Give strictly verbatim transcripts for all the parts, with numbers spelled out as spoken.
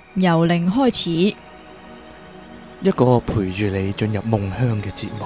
由零開始， 一個陪住你進入夢鄉嘅節目。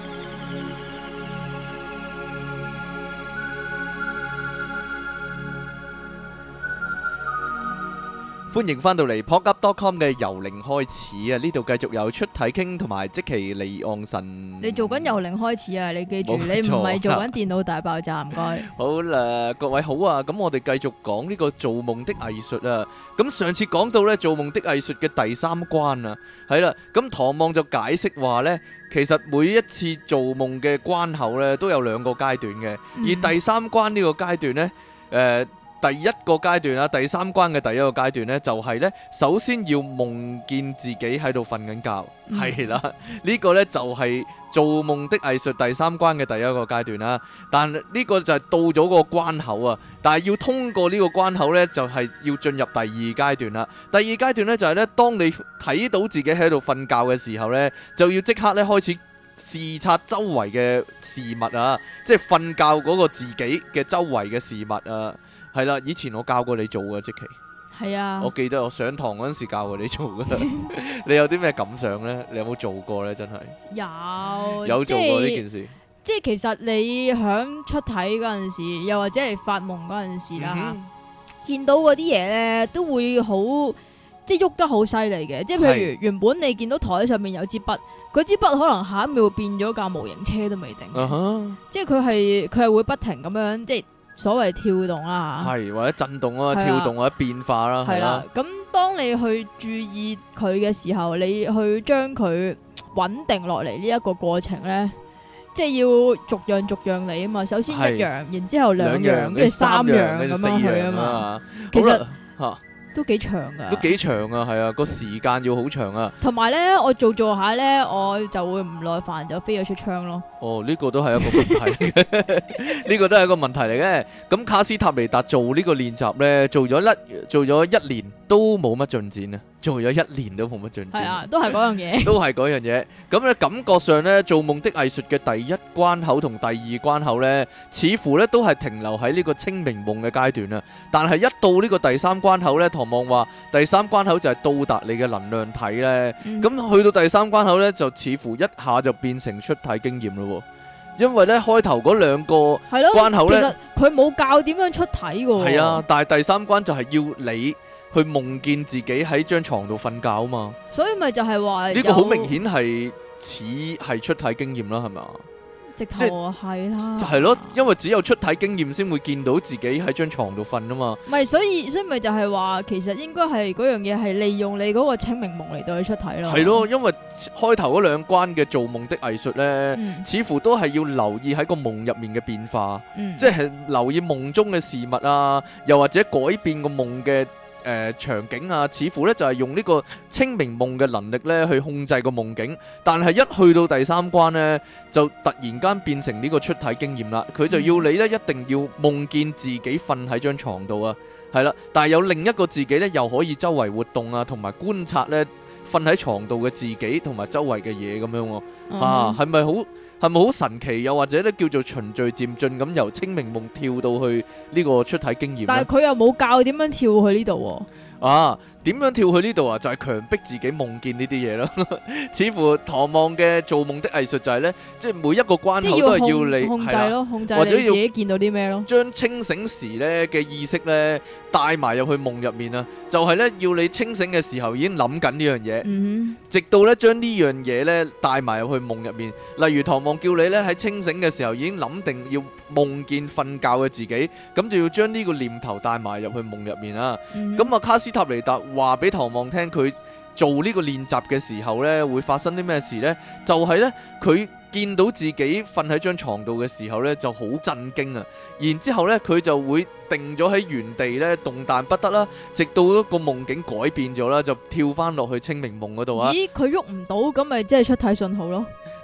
歡迎翻到嚟 podcast dot com 嘅由零開始啊！呢度繼續有出體傾同埋即其離岸神。 你做緊由零開始啊！你記住， 冇錯你唔係做緊電腦大爆炸，唔該。 好啦，各位好啊！咁我哋繼續講呢個做夢的藝術啊！咁上次講到呢做夢的藝術嘅第三關啊，係啦，咁唐望就解釋話呢，其實每一次做夢嘅關口呢都有兩個階段嘅， 嗯而第三關呢個階段呢，誒、呃。第一個階段啊，第三關嘅第一個階段呢，就係呢：首先要夢見自己喺度瞓緊覺，係啦、嗯，呢個呢，就係做夢的藝術第三關嘅第一個階段啦。但呢個就係到咗個關口啊，但係要通過呢個關口呢，就係要進入第二階段啦。第二階段呢，就係呢：當你睇到自己喺度瞓覺嘅時候呢，就要即刻呢開始視察周圍嘅事物啊，即係瞓覺嗰個自己嘅周圍嘅事物啊。係啦，以前我教過你做嘅，即其係啊， 我記得我上堂嗰陣時教過你做嘅。你有啲咩感想呢？你有冇做過呢？真係有有做過呢件事。 即係其實你響出體嗰陣時，又或者係發夢嗰陣時啦， 嗯、 見到嗰啲嘢咧，都會好即係喐得好犀利嘅。即係譬如原本你見到台上面有支筆，嗰支筆可能下一秒變咗架模型車都未定。 Uh huh. 即係佢係佢係會不停咁樣即係。所謂跳動啦， 係或者震動啊、跳動或者變化啦，係啦。 咁當你去注意佢嘅時候，你去將佢穩定落嚟呢一個過程咧，即係要逐樣逐樣嚟啊嘛。首先一樣，然之後兩樣，跟住三樣咁樣去啊嘛。其實吓都幾長噶， 都幾長啊，係啊，個時間要好長啊。 同埋咧，我做做下咧，我就會唔耐煩就飛咗出窗咯。 哦，呢個都係一個問題嚟嘅，呢個都係一個問題嚟嘅。咁卡斯塔尼達做呢個練習咧，做咗一做咗一年都冇乜進展啊，做咗一年都冇乜進展。 係啊，都係嗰樣嘢， 都係嗰樣嘢。咁咧感覺上咧，做夢的藝術嘅第一關口同第二關口咧，似乎咧都係停留喺呢個清明夢嘅階段啊。但係一到呢個第三關口咧，唐望話第三關口就係到達你嘅能量體咧。咁、嗯、去到第三關口咧，就似乎一下就變成出體經驗咯。因為咧開頭嗰兩個關口咧， 其實佢冇教點樣出體㗎。 係啊，但係第三關就係要你去夢見自己喺張床度瞓覺啊嘛。所以咪就係話呢個好明顯係似係出體經驗啦，係咪？ 直頭係啦， 就係咯，因為只有出體經驗先會見到自己喺張床度瞓啊嘛。 唔係，所以所以咪就係話，其實應該係嗰樣嘢係利用你嗰個清明夢嚟到去出體咯。 係咯，因為開頭嗰兩關嘅做夢的藝術咧，嗯、似乎都係要留意喺個夢入面嘅變化，嗯、即係留意夢中嘅事物啊，又或者改變個夢嘅。誒、呃、場景啊，似乎咧就係、是、用呢個清明夢嘅能力咧去控制個夢境，但係一去到第三關呢，就突然間變成呢個出體經驗啦。佢就要你咧一定要夢見自己瞓喺張床度啊，係啦，但係有另一個自己咧又可以周圍活動啊，同埋觀察咧瞓喺床度嘅自己同埋周圍嘅嘢咁樣喎、啊，嗯、啊係咪好？係咪好神奇？又或者咧叫做循序漸進咁由清明夢跳到去呢個出體經驗？但係佢又冇教點樣跳去呢度喎。 啊，點樣跳去呢度啊？就係、是、強迫自己夢見呢啲嘢咯。似乎唐望嘅做夢的藝術就係咧，即係每一個關口都係要你控制咯，控制或者你自己見到啲咩咯。 將清醒時咧嘅意識咧帶埋入去夢入面啊，就係、是、咧要你清醒嘅時候已經諗緊呢樣嘢，嗯、哼直到咧將呢樣嘢咧帶埋入去夢入面。例如唐望叫你咧喺清醒嘅時候已經諗定要夢見瞓覺嘅自己，咁就要將呢個念頭帶埋入去夢入面啊。咁啊、嗯哼，卡斯塔尼達話俾唐望聽，佢做呢個練習嘅時候咧會發生啲咩事呢？就係咧佢見到自己瞓喺張床度嘅時候咧就好震驚啊！然之後咧佢就會定咗喺原地咧動彈不得啦，直到個夢境改變咗啦，就跳翻落去清明夢嗰度啊！ 咦，佢喐唔到，咁咪即係出體信號咯？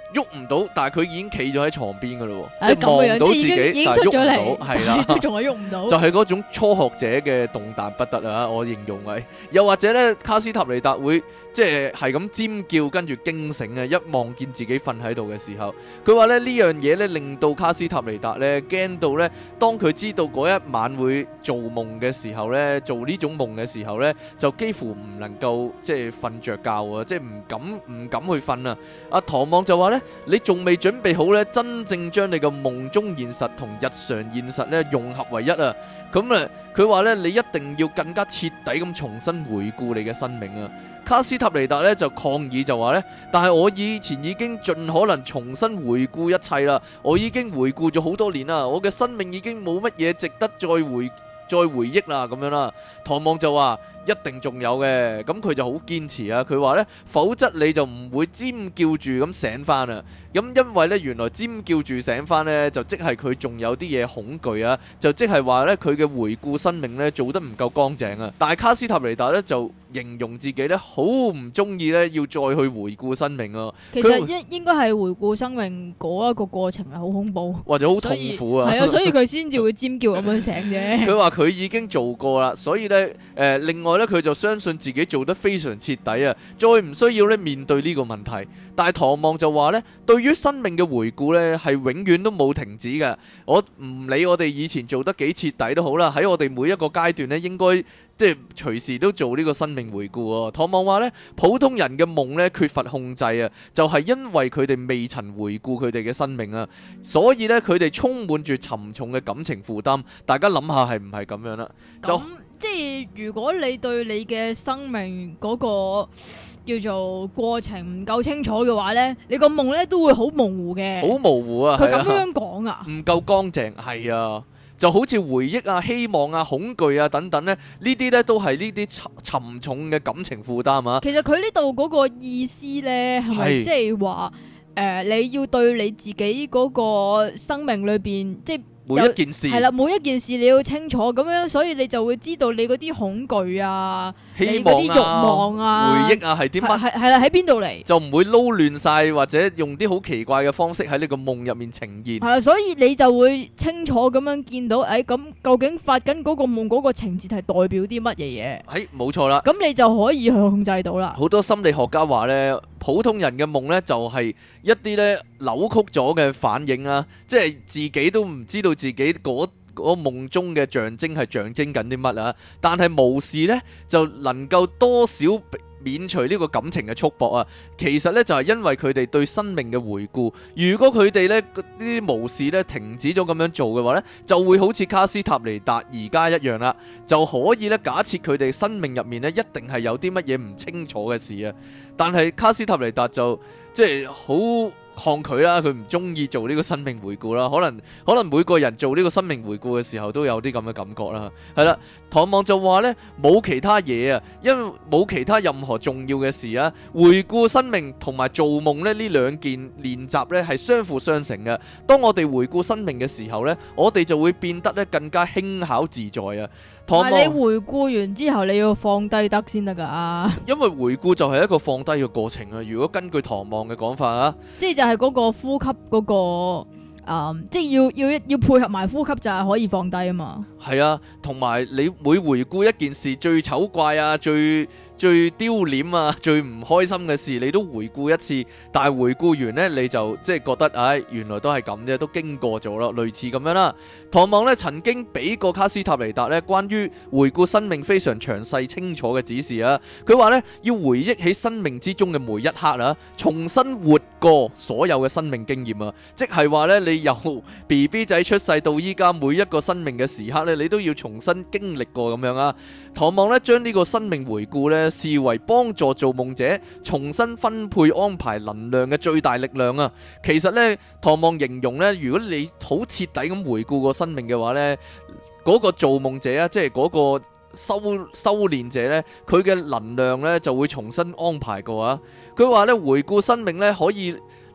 喐唔到，但係佢已經企咗喺床邊噶咯， 哎、 即係望到自己， 已經但係喐唔到，係啦， 都仲係喐唔到， 就係嗰種初學者嘅動彈不得啊！我形容係，又或者咧，卡斯塔尼達會即係係咁尖叫，跟住驚醒啊！一望見自己瞓喺度嘅時候，佢話咧呢樣嘢咧令到卡斯塔尼達咧驚到咧，當佢知道嗰一晚會做夢嘅時候咧，做呢種夢嘅時候咧，就幾乎唔能夠即係瞓着覺啊！即係唔敢唔敢去瞓啊！阿唐望就話咧，你仲未準備好咧，真正將你嘅夢中現實同日常現實咧融合為一啊！咁啊，佢話咧，你一定要更加徹底咁重新回顧你嘅生命啊！卡斯塔尼達咧就抗議就話咧，但係我以前已經盡可能重新回顧一切啦，我已經回顧咗好多年啦，我嘅生命已經冇乜嘢值得再回再回憶啦，咁樣啦。唐望就話一定仲有嘅，咁佢就好堅持啊，佢話咧，否則你就唔會尖叫住咁醒翻啊。咁因為咧，原來尖叫住醒翻咧，就即係佢仲有啲嘢恐懼啊，就即係話咧，佢嘅回顧生命咧做得唔夠乾淨啊。但係卡斯塔尼達咧就形容自己咧好唔中意咧要再去回顧生命啊。 其實應應該係回顧生命嗰一個過程係好恐怖， 或者好痛苦啊。 係啊，所以佢先至會尖叫咁樣醒啫。 佢話佢已經做過啦，所以咧誒、呃，另外咧佢就相信自己做得非常徹底啊，再唔需要咧面對呢個問題。但係唐望就話咧，對於生命嘅回顧咧係永遠都冇停止嘅。我唔理我哋以前做得幾徹底都好啦，喺我哋每一個階段咧，應該即係隨時都做呢個生命回顧啊。唐望話咧，普通人嘅夢咧缺乏控制啊，就係因為佢哋未曾回顧佢哋嘅生命啊，所以咧佢哋充滿住沉重嘅感情負擔。大家諗下係唔係咁樣啦？就即係如果你對你嘅生命嗰個叫做過程唔夠清楚嘅話呢，你個夢呢都會好模糊嘅， 好模糊啊！ 佢咁樣講啊， 唔夠乾淨，係啊，就好似回憶啊、希望啊、恐懼啊等等呢，呢啲呢都係呢啲沉沉重嘅感情負擔啊。 其實佢呢度嗰個意思呢，係咪即係話誒，你要對你自己嗰個生命裏邊即係。 每一件事係啦，每一件事你要清楚咁樣，所以你就會知道你嗰啲恐懼啊、 希望啊、 你嗰啲慾望啊、 回憶啊係啲乜？ 係係啦，喺邊度嚟？ 就唔會撈亂晒，或者用啲好奇怪嘅方式喺呢個夢入面呈現。 係啦，所以你就會清楚咁樣見到，誒、哎、咁究竟發緊嗰個夢嗰個情節係代表啲乜嘢嘢？ 係冇錯啦。 咁你就可以去控制到啦。 好多心理學家話呢，普通人嘅夢呢，就係一啲呢扭曲咗嘅反應啦，即係自己都唔知道自己嗰嗰夢中嘅象徵係象徵緊啲乜啊，但係無視呢，就能夠多少免除呢個感情嘅束縛啊。其實呢，就係因為佢哋對生命嘅回顧。如果佢哋呢啲無視呢停止咗咁樣做嘅話呢，就會好似卡斯塔尼達而家一樣啦，就可以呢假設佢哋生命入面呢一定係有啲乜嘢唔清楚嘅事啊。但係卡斯塔尼達就即係好抗拒啦，佢唔中意做呢個生命回顧啦。可能可能每個人做呢個生命回顧嘅時候都有啲咁嘅感覺啦。係啦，唐望就話呢，冇其他嘢啊，因為冇其他任何重要嘅事啊。回顧生命同埋做夢呢，呢兩件練習呢係相輔相成嘅。當我哋回顧生命嘅時候呢，我哋就會變得呢更加輕巧自在啊。唐望， 但係你回顧完之後，你要放低得先得噶。因為回顧就係一個放低嘅過程啊。如果根據唐望嘅講法啊， 即係就係嗰個呼吸嗰個。Um, 即係要要要配合埋呼吸就係可以放低啊嘛。係啊，同埋你每回顧一件事最醜怪啊、最最丟臉啊、最唔開心嘅事，你都回顧一次。但係回顧完呢，你就即係覺得，唉、哎，原來都係咁啫，都經過咗咯，類似咁樣啦。唐望呢曾經俾過卡斯塔尼達呢關於回顧生命非常詳細清楚嘅指示啊。佢話呢，要回憶起生命之中嘅每一刻啊，重新活過所有嘅生命經驗啊，即係話呢，你由 B B 仔出世到依家每一個生命嘅時刻咧，你都要重新經歷過咁樣啊。唐望咧將呢個生命回顧咧視為幫助做夢者重新分配安排能量嘅最大力量啊。其實咧，唐望形容咧，如果你好徹底咁回顧個生命嘅話咧，嗰個做夢者啊，即係嗰個修修煉者咧，佢嘅能量咧就會重新安排過啊。佢話咧，回顧生命咧可以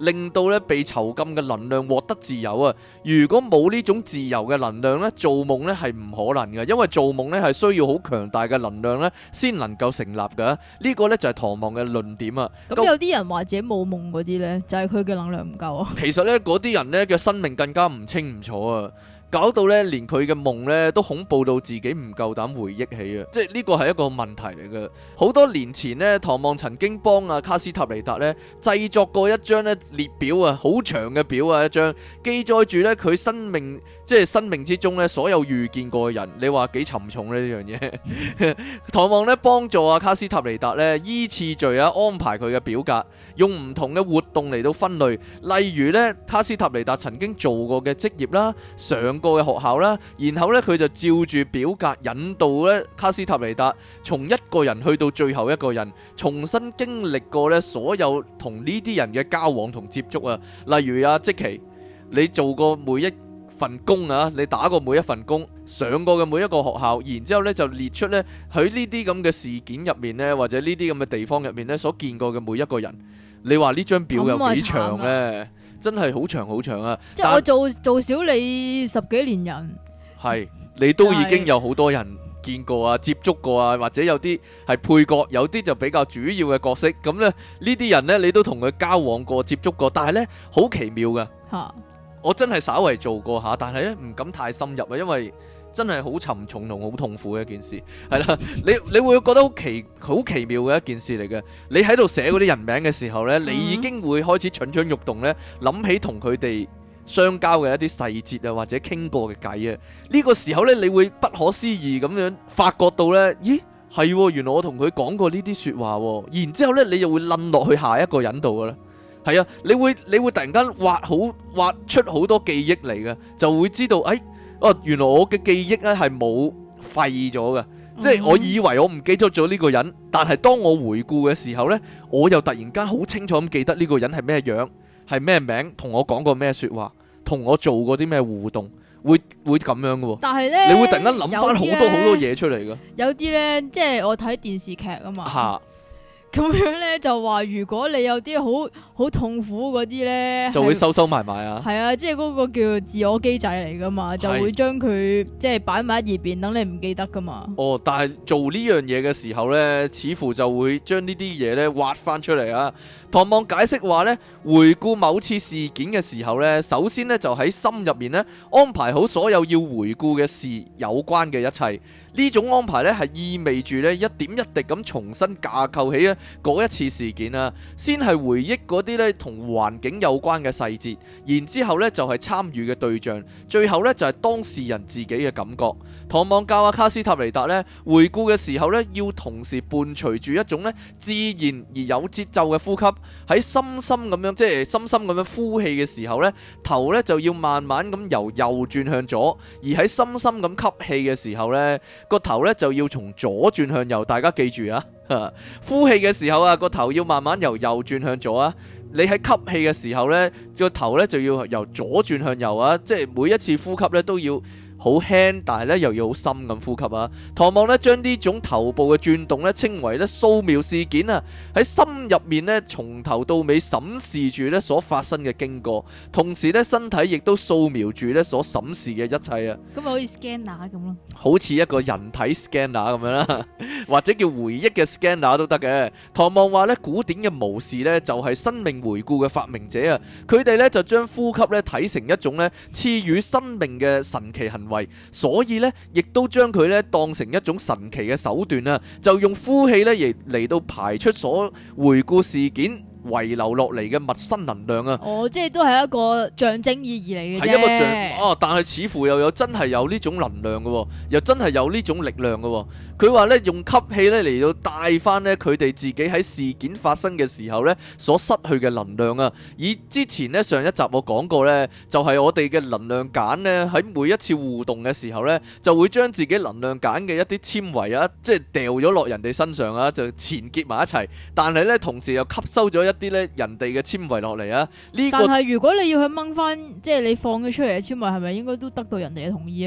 令到咧被囚禁嘅能量獲得自由啊！如果冇呢種自由嘅能量咧，做夢咧係唔可能嘅，因為做夢咧係需要好強大嘅能量咧先能夠成立嘅。呢個咧就係唐望嘅論點啊！ 咁有啲人或者冇夢嗰啲咧，就係佢嘅能量唔夠啊。 其實咧嗰啲人咧嘅生命更加唔清唔楚啊！搞到咧，連佢嘅夢咧都恐怖到自己唔夠膽回憶起啊！即係呢個係一個問題嚟嘅。好多年前呢，唐望曾經幫阿卡斯塔尼達咧製作過一張咧列表啊，好長嘅表啊，一張記載住咧佢生命即係生命之中咧所有遇見過嘅人。你話幾沉重呢呢樣嘢？唐望咧幫助阿卡斯塔尼達咧依次序啊安排佢嘅表格，用唔同嘅活動嚟到分類。例如咧，卡斯塔尼達曾經做過嘅職業啦，上個嘅學校啦，然後咧佢就照住表格引導咧卡斯塔尼達從一個人去到最後一個人，重新經歷過咧所有同呢啲人嘅交往同接觸啊。例如啊，即其你做過每一份工啊，你打過每一份工，上過嘅每一個學校，然之後咧就列出咧喺呢啲咁嘅事件入面咧，或者呢啲咁嘅地方入面咧所見過嘅每一個人。你話呢張表有幾長呢？真係好長好長啊！ 即係我做做少你十幾年人， 係你都已經有好多人見過啊、接觸過啊，或者有啲係配角，有啲就比較主要嘅角色。咁咧呢啲人呢，你都同佢交往過、接觸過，但係呢，好奇妙噶。 吓， 我真係稍為做過下，但係咧唔敢太深入啊，因為真係好沉重同好痛苦嘅一件事，係啦，你你會覺得好奇好奇妙嘅一件事嚟嘅。你喺度寫嗰啲人名嘅時候呢，你已經會開始蠢蠢欲動呢，諗起同佢哋相交嘅一啲細節啊，或者傾過嘅偈啊。呢個時候呢，你會不可思議咁樣發覺到呢，咦係，原來我同佢講過呢啲說話，然之後呢，你又會冧落去下一個人度噶啦。係啊，你會你會突然間挖好挖出好多記憶嚟嘅，就會知道，哎。哦，原來我嘅記憶咧係冇廢咗嘅，即係我以為我唔記得咗呢個人，但係當我回顧嘅時候呢，我又突然間好清楚咁記得呢個人係咩樣，係咩名，同我講過咩說話，同我做過啲咩互動，會會咁樣嘅喎。但係呢，你會突然間諗翻好多好多嘢出嚟嘅。有啲呢，即係我睇電視劇啊嘛。嚇！咁樣咧就話，如果你有啲好好痛苦嗰啲咧，就會收收埋埋啊。係啊，即係嗰個叫自我機制嚟噶嘛，就會將佢即係擺埋一邊，等你唔記得噶嘛。哦，但係做呢樣嘢嘅時候咧，似乎就會將呢啲嘢咧挖翻出嚟啊。唐望解釋話咧，回顧某次事件嘅時候咧，首先咧就喺心入面咧安排好所有要回顧嘅事有關嘅一切。呢種安排咧係意味住咧一點一滴咁重新架構起啊嗰一次事件啊，先係回憶嗰啲咧同環境有關嘅細節，然之後咧就係參與嘅對象，最後咧就係當事人自己嘅感覺。唐望教阿卡斯塔尼達咧回顧嘅時候咧，要同時伴隨住一種咧自然而有節奏嘅呼吸，喺深深咁樣即係深深咁樣呼氣嘅時候咧，頭咧就要慢慢咁由右轉向左，而喺深深咁吸氣嘅時候咧，個頭咧就要從左轉向右。大家記住啊！呼氣嘅時候啊，個頭要慢慢由右轉向左啊。你喺吸氣嘅時候呢，個頭呢就要由左轉向右啊。即係每一次呼吸呢都要好輕，但係咧又要好深咁呼吸啊！唐望咧將呢種頭部嘅轉動咧稱為咧掃描事件啊，喺心入面咧從頭到尾審視住咧所發生嘅經過，同時咧身體亦都掃描住咧所審視嘅一切啊！咁咪好似 scanner 咁咯，好似一個人體 scanner 咁樣啦，或者叫回憶嘅 scanner 都得嘅。唐望話咧古典嘅巫士咧就係生命回顧嘅發明者啊，佢哋咧就將呼吸咧睇成一種咧賜予生命嘅神奇行為。所以咧，亦都將佢咧當成一種神奇嘅手段啊！就用呼氣咧，亦嚟到排出所回顧事件遺留落嚟嘅陌生能量啊！哦，即係都係一個象徵意義嚟嘅啫。係一個象哦，但係似乎又有真係有呢種能量嘅，又真係有呢種力量嘅。佢話咧用吸氣咧嚟到帶翻咧佢哋自己喺事件發生嘅時候咧所失去嘅能量啊！以之前咧上一集我講過咧，就係我哋嘅能量繭咧喺每一次互動嘅時候咧，就會將自己能量繭嘅一啲纖維啊，即係掉咗落人哋身上啊，就纏結埋一齊。但係咧同時又吸收咗一啲咧人哋嘅纖維落嚟啊！呢個但係如果你要去掹翻，即係你放咗出嚟嘅纖維，係咪應該都得到人哋嘅同意啊？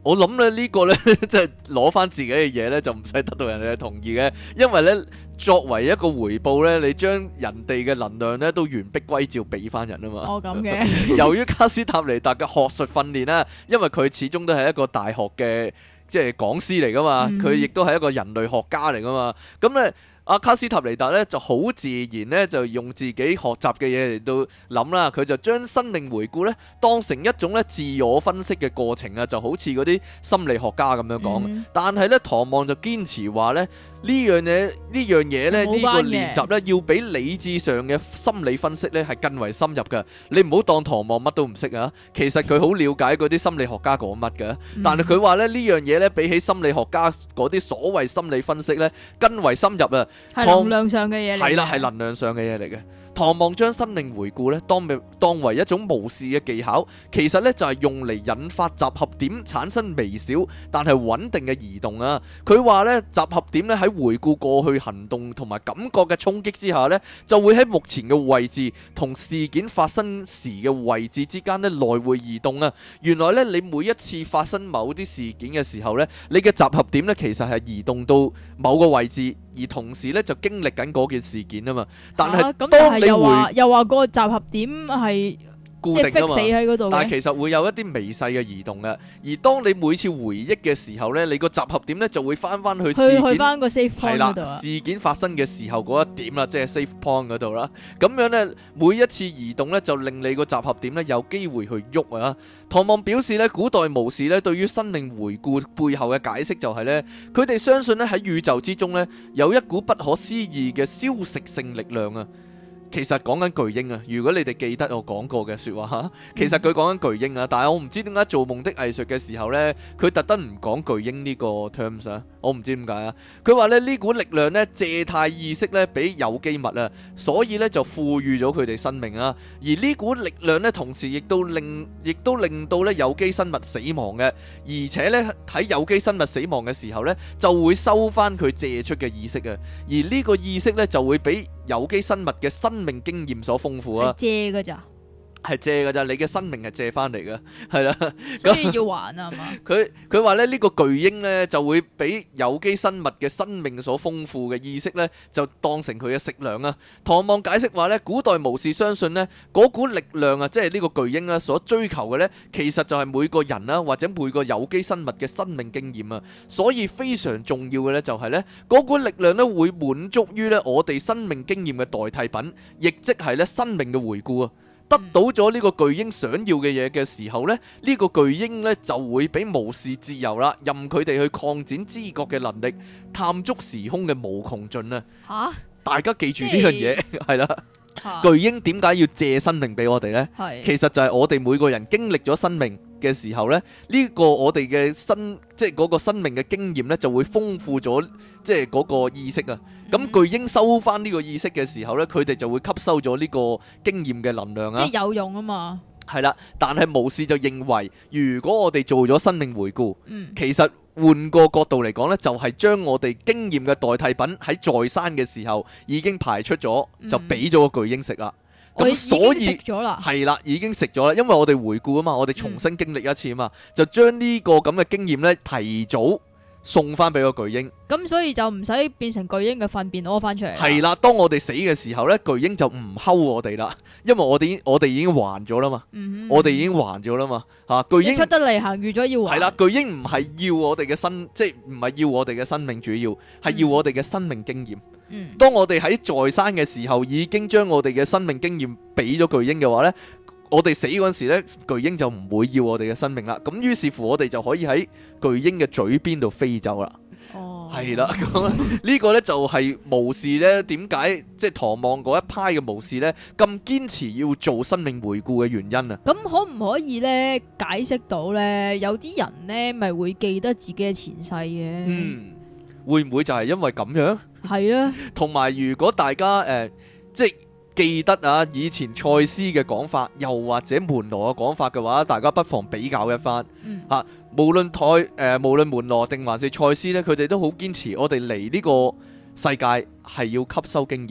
我諗咧呢個咧即係攞翻自己嘅嘢咧，就唔使得到人哋嘅同意嘅，因為咧作為一個回報咧，你將人哋嘅能量咧都完璧歸趙俾翻人啊嘛。 哦，咁嘅。 由於卡斯塔尼達嘅學術訓練啦，因為佢始終都係一個大學嘅即係講師嚟噶嘛，佢亦都係一個人類學家嚟噶嘛，咁咧。阿卡斯塔尼達咧就好自然咧，就用自己學習嘅嘢嚟到諗啦。佢就將生命回顧咧當成一種咧自我分析嘅過程啊，就好似嗰啲心理學家咁樣講。嗯、但係咧，唐望就堅持話咧呢樣嘢呢樣嘢咧呢個練習咧要比理智上嘅心理分析咧係更為深入嘅。你唔好當唐望乜都唔識啊，其實佢好了解嗰啲心理學家講乜嘅。嗯、但係佢話咧呢樣嘢咧比起心理學家嗰啲所謂心理分析咧更為深入啊。 係能量上嘅嘢嚟， 係啦，係能量上嘅嘢嚟嘅。唐望將生命回顧咧，當當為一種無視嘅技巧，其實咧就係用嚟引發集合點產生微小但係穩定嘅移動啊。佢話咧集合點咧喺回顧過去行動同埋感覺嘅衝擊之下咧，就會喺目前嘅位置同事件發生時嘅位置之間咧來回移動啊。原來咧你每一次發生某啲事件嘅時候咧，你嘅集合點咧其實係移動到某個位置。而同時咧就經歷緊嗰件事件啊嘛，但係當你又話又話個集合點係固定㗎嘛， 死喺嗰度， 但係其實會有一啲微細嘅移動嘅。而當你每次回憶嘅時候咧，你個集合點咧就會翻翻去事件去去翻個 safe point 嗰度啊， 事件發生嘅時候嗰一點啦，即係 safe point 嗰度啦。咁樣咧，每一次移動咧就令你個集合點咧有機會去喐啊。唐望表示咧，古代巫士咧對於生命回顧背後嘅解釋就係咧，佢哋相信咧喺宇宙之中咧有一股不可思議嘅消食性力量啊。其實講緊巨鷹啊，如果你哋記得我講過嘅說話吓，其實佢講緊巨鷹啊，但係我唔知點解做夢的藝術嘅時候呢，佢特登唔講巨鷹呢個 terms 啊，我唔知點解啊。佢話咧呢股力量呢，借貸意識呢俾有機物啊，所以呢就賦予咗佢哋生命啊。而呢股力量呢，同時亦都令亦都令到呢有機生物死亡嘅，而且呢，喺有機生物死亡嘅時候呢，就會收翻佢借出嘅意識啊。而呢個意識呢，就會俾有機生物嘅生命經驗所豐富啊， 借噶咋？ 係借噶咋？你嘅生命係借翻嚟嘅，係啦， 所以要還啊嘛。 佢佢話咧呢個巨鷹咧就會俾有機生物嘅生命所豐富嘅意識咧，就當成佢嘅食糧啊。唐望解釋話咧，古代巫士相信咧嗰股力量啊，即係呢個巨鷹啦所追求嘅咧，其實就係每個人啦或者每個有機生物嘅生命經驗啊。所以非常重要嘅咧就係咧嗰股力量咧會滿足於咧我哋生命經驗嘅代替品，亦即係咧生命嘅回顧啊。得到咗呢個巨鷹想要嘅嘢嘅時候咧，呢個巨鷹咧就會俾無視自由啦，任佢哋去擴展知覺嘅能力，探足時空嘅無窮盡啊！吓，大家記住呢樣嘢係啦。巨鷹點解要借生命俾我哋呢？係其實就係我哋每個人經歷咗生命嘅時候咧，呢個我哋嘅生即係嗰個生命嘅經驗咧，就會豐富咗即係嗰個意識啊。咁巨鷹收翻呢個意識嘅時候咧，佢哋就會吸收咗呢個經驗嘅能量啊。 即係有用啊嘛。係啦，但係巫士就認為，如果我哋做咗生命回顧，嗯，其實換個角度嚟講呢，就係將我哋經驗嘅代替品喺在生嘅時候已經排出咗，就俾咗個巨鷹食啦。咁所以係啦，已經食咗啦，因為我哋回顧啊嘛，我哋重新經歷一次啊嘛，就將呢個咁嘅經驗呢提早送翻俾個巨鷹，咁所以就唔使變成巨鷹嘅糞便屙翻出嚟。 係啦，當我哋死嘅時候呢，巨鷹就唔睺我哋啦，因為我哋我哋已經還咗啦嘛，嗯、我哋已經還咗啦嘛，吓、啊、巨鷹出得嚟行預咗要還。 係啦，巨鷹唔係要我哋嘅生，即係唔係要我哋嘅生命，主要係要我哋嘅生命經驗。嗯、當我哋喺在生嘅時候，已經將我哋嘅生命經驗俾咗巨鷹嘅話呢，我哋死嗰陣時咧，巨鷹就唔會要我哋嘅生命啦。咁於是乎，我哋就可以喺巨鷹嘅嘴邊度飛走啦。哦，係啦，咁呢個呢就係巫士呢點解即係唐望嗰一派嘅巫士呢咁堅持要做生命回顧嘅原因啊？ 咁可唔可以呢解釋到呢？有啲人呢咪會記得自己嘅前世嘅？嗯， 會唔會就係因為咁樣？係啊，同埋如果大家誒、呃、即係。記得啊，以前賽斯嘅講法，又或者門羅嘅講法嘅話，大家不妨比較一番。嗯，嚇、啊，無論台誒、呃，無論門羅定還是賽斯咧，佢哋都好堅持，我哋嚟呢個世界係要吸收經驗。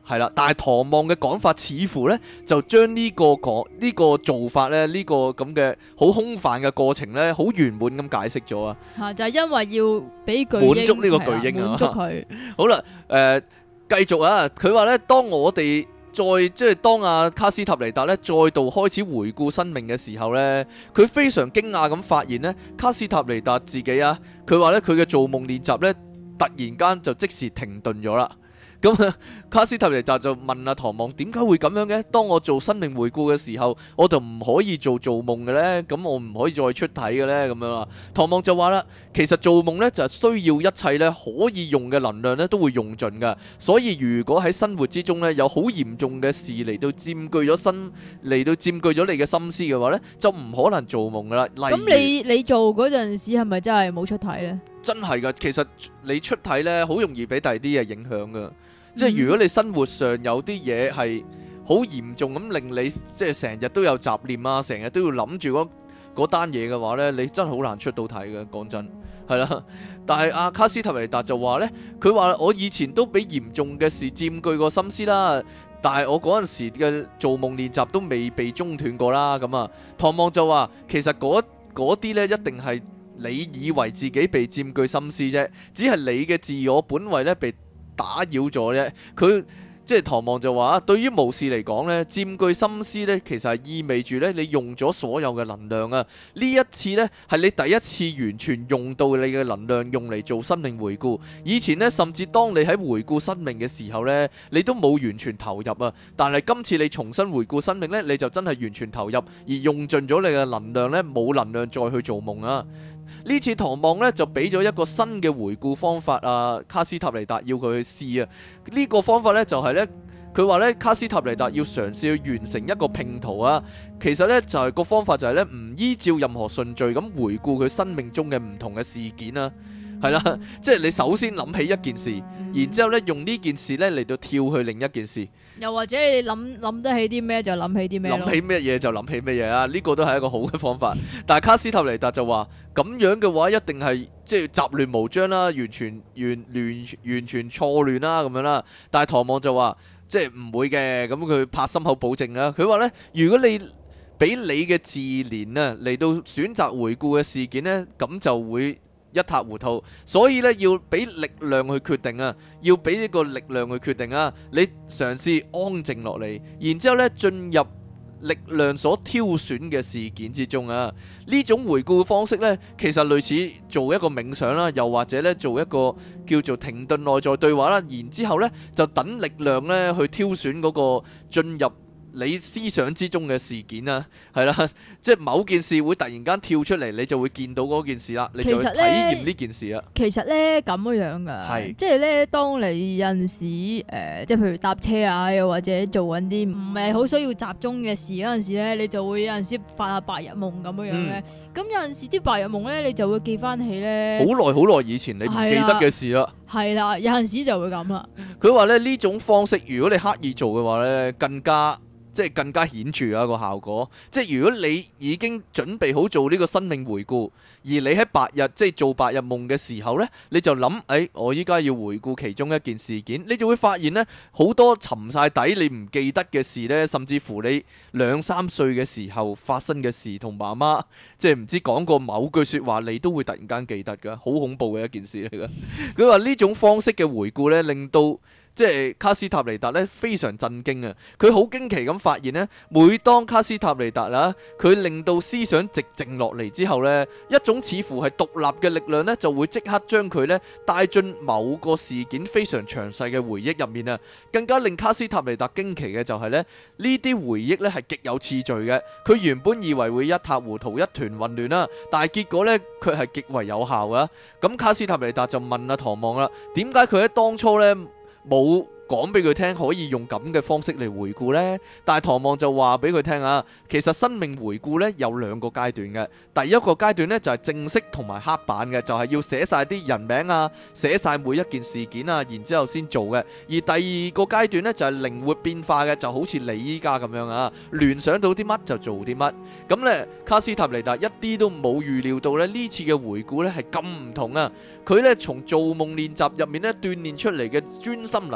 係啦，但係唐望嘅講法似乎呢，就將呢個講呢個做法呢，呢個咁嘅好空泛嘅過程呢，好圓滿咁解釋咗啊！ 嚇，就係因為要俾巨鷹滿足呢個巨鷹啊， 滿足佢。 好啦，誒繼續啊！佢話呢，當我哋再即係當阿卡斯塔尼達呢，再度開始回顧生命嘅時候呢，佢非常驚訝咁發現呢，卡斯塔尼達自己啊，佢話呢，佢嘅做夢練習呢，突然間就即時停頓咗啦。咁卡斯塔尼達就問阿唐望點解會咁樣嘅？當我做生命回顧嘅時候，我就唔可以做做夢嘅呢？咁我唔可以再出體嘅呢？咁樣啊？唐望就話啦，其實做夢呢，就係需要一切呢可以用嘅能量呢都會用盡噶。所以如果喺生活之中呢，有好嚴重嘅事嚟到佔據咗身嚟到佔據咗你嘅心思嘅話呢，就唔可能做夢噶啦。 咁你你做嗰陣時係咪真係冇出體呢？ 真係噶，其實你出體呢，好容易俾第二啲嘢影響噶。即係如果你生活上有啲嘢係好嚴重咁令你即係成日都有雜念啊，成日都要諗住嗰嗰單嘢嘅話呢，你真係好難出到體嘅。講真係啦，但係阿卡斯塔尼達就話呢，佢話我以前都俾嚴重嘅事佔據過心思啦，但係我嗰陣時嘅做夢練習都未被中斷過啦。咁啊，唐望就話其實嗰嗰啲呢，一定係你以為自己被佔據心思啫，只係你嘅自我本位呢被打擾咗啫。佢即係唐望就話，對於巫士嚟講呢，佔據心思呢，其實係意味住呢，你用咗所有嘅能量啊。呢一次呢，係你第一次完全用到你嘅能量用嚟做生命回顧。以前呢，甚至當你喺回顧生命嘅時候呢，你都冇完全投入啊。但係今次你重新回顧生命呢，你就真係完全投入，而用盡咗你嘅能量呢，冇能量再去做夢啊。呢次唐望呢，就俾咗一個新嘅回顧方法啊，卡斯塔尼達要佢去試啊。呢、這個方法呢，就係、是、呢，佢話呢，卡斯塔尼達要嘗試去完成一個拼圖啊。其實呢，就係、是、個方法就係呢，唔依照任何順序咁回顧佢生命中嘅唔同嘅事件啊。係啦，即係你首先諗起一件事，嗯、然之後咧用呢件事咧嚟到跳去另一件事， 又或者你諗諗得起啲咩就諗起啲咩咯， 諗起咩嘢就諗起咩嘢啊！呢、這個都係一個好嘅方法。但係卡斯塔尼達就話咁樣嘅話，一定係即係雜亂無章啦，完全完亂完全錯亂啦咁樣啦。但係唐望就話即係唔會嘅，咁佢拍心口保證啦。佢話咧，如果你俾你嘅自憐啊嚟到選擇回顧嘅事件呢，咁就會一塌糊塗，所以咧要俾力量去決定啊，要俾呢個力量去決定啊。你嘗試安靜落嚟，然之後咧進入力量所挑選嘅事件之中啊。呢種回顧方式咧，其實類似做一個冥想啦，又或者咧做一個叫做停頓內在對話啦。然之後咧就等力量咧去挑選嗰個進入你思想之中嘅事件啊，係啦，即係某件事會突然間跳出嚟，你就會見到嗰件事啦，你就會體驗呢件事啦。 其實咧咁樣噶，係即係咧，當你有陣時誒、呃，即係譬如搭車啊，又或者做緊啲唔係好需要集中嘅事嗰陣時咧，你就會有陣時發下白日夢咁樣樣咧。咁、嗯、有陣時啲白日夢咧，你就會記翻起咧好耐好耐以前你唔記得嘅事啦。係啦，有陣時就會咁啦。佢話咧呢種方式，如果你刻意做嘅話咧，更加。即係更加顯著啊個效果，即係如果你已經準備好做呢個生命回顧，而你喺白日即係做白日夢嘅時候呢，你就諗，誒、哎，我依家要回顧其中一件事件，你就會發現呢，好多沉晒底你唔記得嘅事呢，甚至乎你兩三歲嘅時候發生嘅事，同媽媽即係唔知講過某句説話，你都會突然間記得㗎，好恐怖嘅一件事嚟㗎。佢話呢種方式嘅回顧呢，令到即係卡斯塔尼達咧非常震驚啊！佢好驚奇咁發現呢，每當卡斯塔尼達啦，佢令到思想寂靜落嚟之後呢，一種似乎係獨立嘅力量呢，就會即刻將佢呢帶進某個事件非常詳細嘅回憶入面啊！更加令卡斯塔尼達驚奇嘅就係呢，呢啲回憶呢係極有次序嘅。佢原本以為會一塌糊塗、一團混亂啦，但係結果呢，佢係極為有效噶。咁卡斯塔尼達就問阿唐望啦：點解佢喺當初呢冇講俾佢聽可以用咁嘅方式嚟回顧呢？但係唐望就話俾佢聽啊，其實生命回顧呢有兩個階段嘅。第一個階段呢就係正式同埋黑板嘅，就係要寫晒啲人名啊，寫晒每一件事件啊，然之後先做嘅。而第二個階段呢就係靈活變化嘅，就好似你依家咁樣啊，聯想到啲乜就做啲乜。咁呢，卡斯塔尼達一啲都冇預料到呢呢次嘅回顧呢係咁唔同啊！佢呢從做夢練習入面呢鍛鍊出嚟嘅專心能力呢，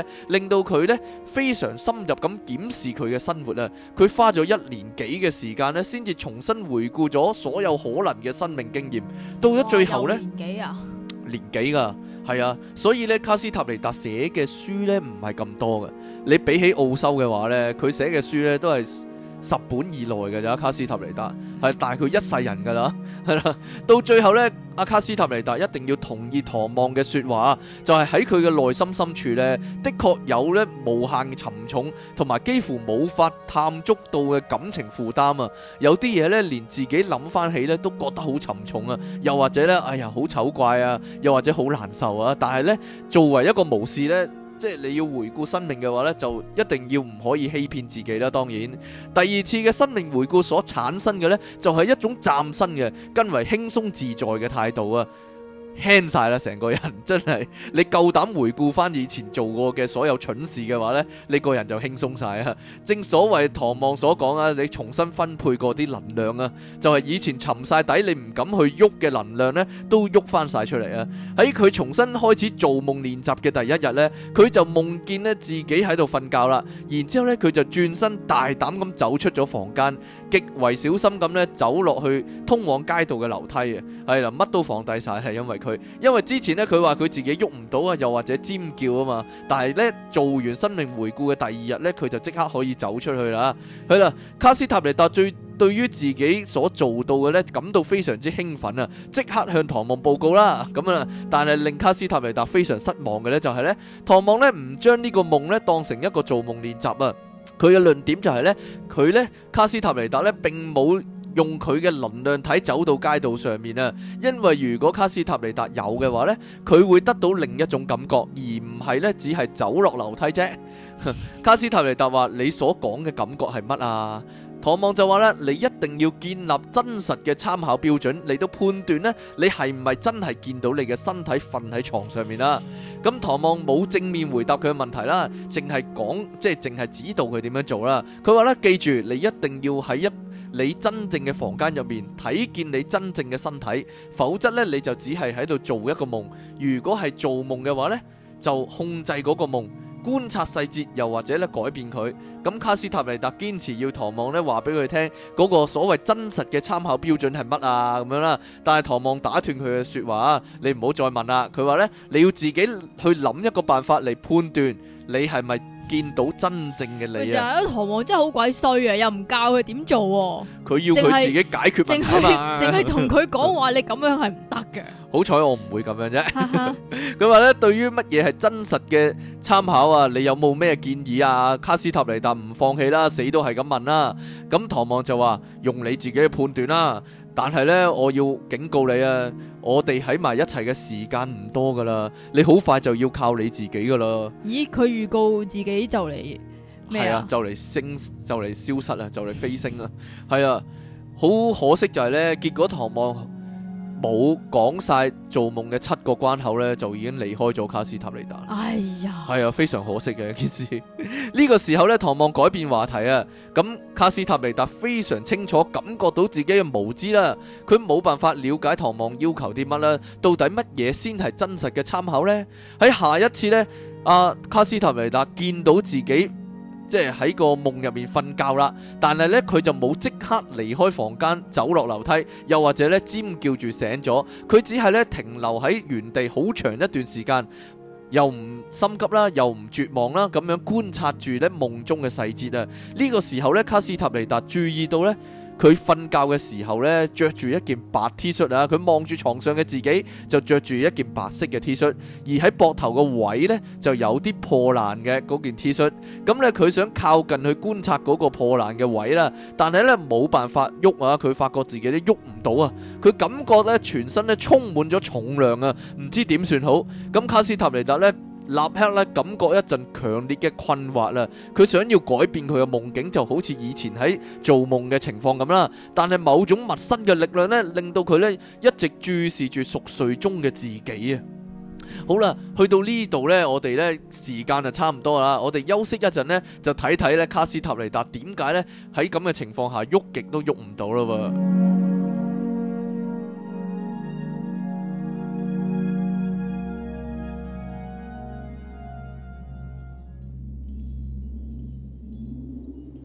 令到佢呢非常深入咁檢視佢嘅生活啊。佢花咗一年幾嘅時間呢，先至重新回顧咗所有可能嘅生命經驗。到咗最後呢， 年幾啊？ 年幾噶，係啊。所以呢，卡斯塔尼達寫嘅書呢唔係咁多嘅。你比起奧修嘅話呢，佢寫嘅書呢都係十本以內嘅咋。卡斯塔尼達係大佢一世人噶啦，係啦。到最後呢，阿卡斯塔尼達一定要同意唐望嘅說話，就係喺佢嘅內心深處呢，的確有呢無限沉重同埋幾乎冇法探觸到嘅感情負擔啊。有啲嘢呢，連自己諗翻起呢都覺得好沉重啊，又或者呢，哎呀好醜怪啊，又或者好難受啊。但係呢，作為一個巫士呢，即係你要回顧生命嘅話呢，就一定要唔可以欺騙自己啦。當然，第二次嘅生命回顧所產生嘅呢，就係一種嶄新嘅、更為輕鬆自在嘅態度啊！輕晒啦，成個人真係，你夠膽回顧翻以前做過嘅所有蠢事嘅話呢，你個人就輕鬆晒啊！正所謂唐望所講啊，你重新分配過啲能量啊，就係以前沉晒底你唔敢去喐嘅能量呢，都喐翻晒出嚟啊！喺佢重新開始做夢練習嘅第一日呢，佢就夢見呢自己喺度瞓覺啦，然之後呢佢就轉身大膽咁走出咗房間，極為小心咁呢走落去通往街道嘅樓梯啊！係啦，乜都放低晒，係因為佢。因為之前咧佢話佢自己喐唔到啊，又或者尖叫啊嘛，但係咧做完生命回顧嘅第二日咧，佢就即刻可以走出去啦。係啦，卡斯塔尼達最對於自己所做到嘅咧感到非常之興奮啊，即刻向唐望報告啦。咁啊，但係令卡斯塔尼達非常失望嘅咧就係咧，唐望咧唔將呢個夢咧當成一個做夢練習啊。佢嘅論點就係咧，佢咧卡斯塔尼達咧並冇用佢嘅能量體走到街道上面啊，因為如果卡斯塔尼達有嘅話呢，佢會得到另一種感覺，而唔係呢只係走落樓梯啫。卡斯塔尼達話：你所講嘅感覺係乜啊？唐望就話啦：你一定要建立真實嘅參考標準嚟到判斷呢，你係唔係真係見到你嘅身體瞓喺床上面啦？咁唐望冇正面回答佢嘅問題啦，淨係講即係淨係指導佢點樣做啦。佢話咧：記住，你一定要喺一你真正嘅房間入面睇見你真正嘅身體，否則呢，你就只係喺度做一個夢。如果係做夢嘅話呢，就控制嗰個夢，觀察細節，又或者咧改變佢。咁卡斯塔尼達堅持要唐望咧話俾佢聽嗰個所謂真實嘅參考標準係乜啊咁樣啦。但係唐望打斷佢嘅說話，你唔好再問啦。佢話呢，你要自己去諗一個辦法嚟判斷你係咪見到真正嘅你啊！ 唐望真係好鬼衰啊，又唔教佢點做， 佢要佢自己解決問題嘛， 淨係同佢講話你咁樣係唔得嘅。 好彩我唔會咁樣啫。佢話咧，對於乜嘢係真實嘅參考啊，你有冇咩建議啊？卡斯塔尼達唔放棄啦，死都係咁問啦。咁唐望就話用你自己嘅判斷啦。但係呢，我要警告你啊，我哋喺埋一齊嘅時間唔多噶啦，你好快就要靠你自己噶啦。 咦？佢預告自己就嚟咩啊？ 就嚟升，就嚟消失啊，就嚟飛升啊。係啊，好可惜就係呢，結果唐望冇講晒做夢嘅七個關口呢，就已經離開咗卡斯塔尼達。 哎呀， 係啊，非常可惜嘅一件事。呢個時候呢，唐望改變話題啊。咁卡斯塔尼達非常清楚感覺到自己嘅無知啦，佢冇辦法了解唐望要求啲乜啦，到底乜嘢先係真實嘅參考呢？喺下一次呢，阿卡斯塔尼達見到自己即係喺個夢入面瞓覺啦，但係呢，佢就冇即刻離開房間走落樓梯，又或者呢尖叫住醒咗，佢只係呢停留喺原地好長一段時間，又唔心急啦，又唔絕望啦，咁樣觀察住呢夢中嘅細節啊。呢個時候呢，卡斯塔尼達注意到呢，佢瞓覺嘅時候呢，着住一件白 T 恤啊，佢望住床上嘅自己就着住一件白色嘅 T 恤，而喺膊頭個位呢，就有啲破爛嘅嗰件 T 恤。咁呢，佢想靠近去觀察嗰個破爛嘅位啦，但係呢，冇辦法喐啊，佢發覺自己都喐唔到啊，佢感覺呢，全身呢充滿咗重量啊，唔知點算好。咁卡斯塔尼達呢，立刻咧感覺一陣強烈嘅困惑啦，佢想要改變佢嘅夢境，就好似以前喺做夢嘅情況咁啦。但係某種陌生嘅力量咧，令到佢咧一直注視住熟睡中嘅自己啊。好啦，去到呢度呢，我哋呢時間就差唔多啦，我哋休息一陣呢，就睇睇咧卡斯塔尼達點解呢喺咁嘅情況下喐極都喐唔到啦喎。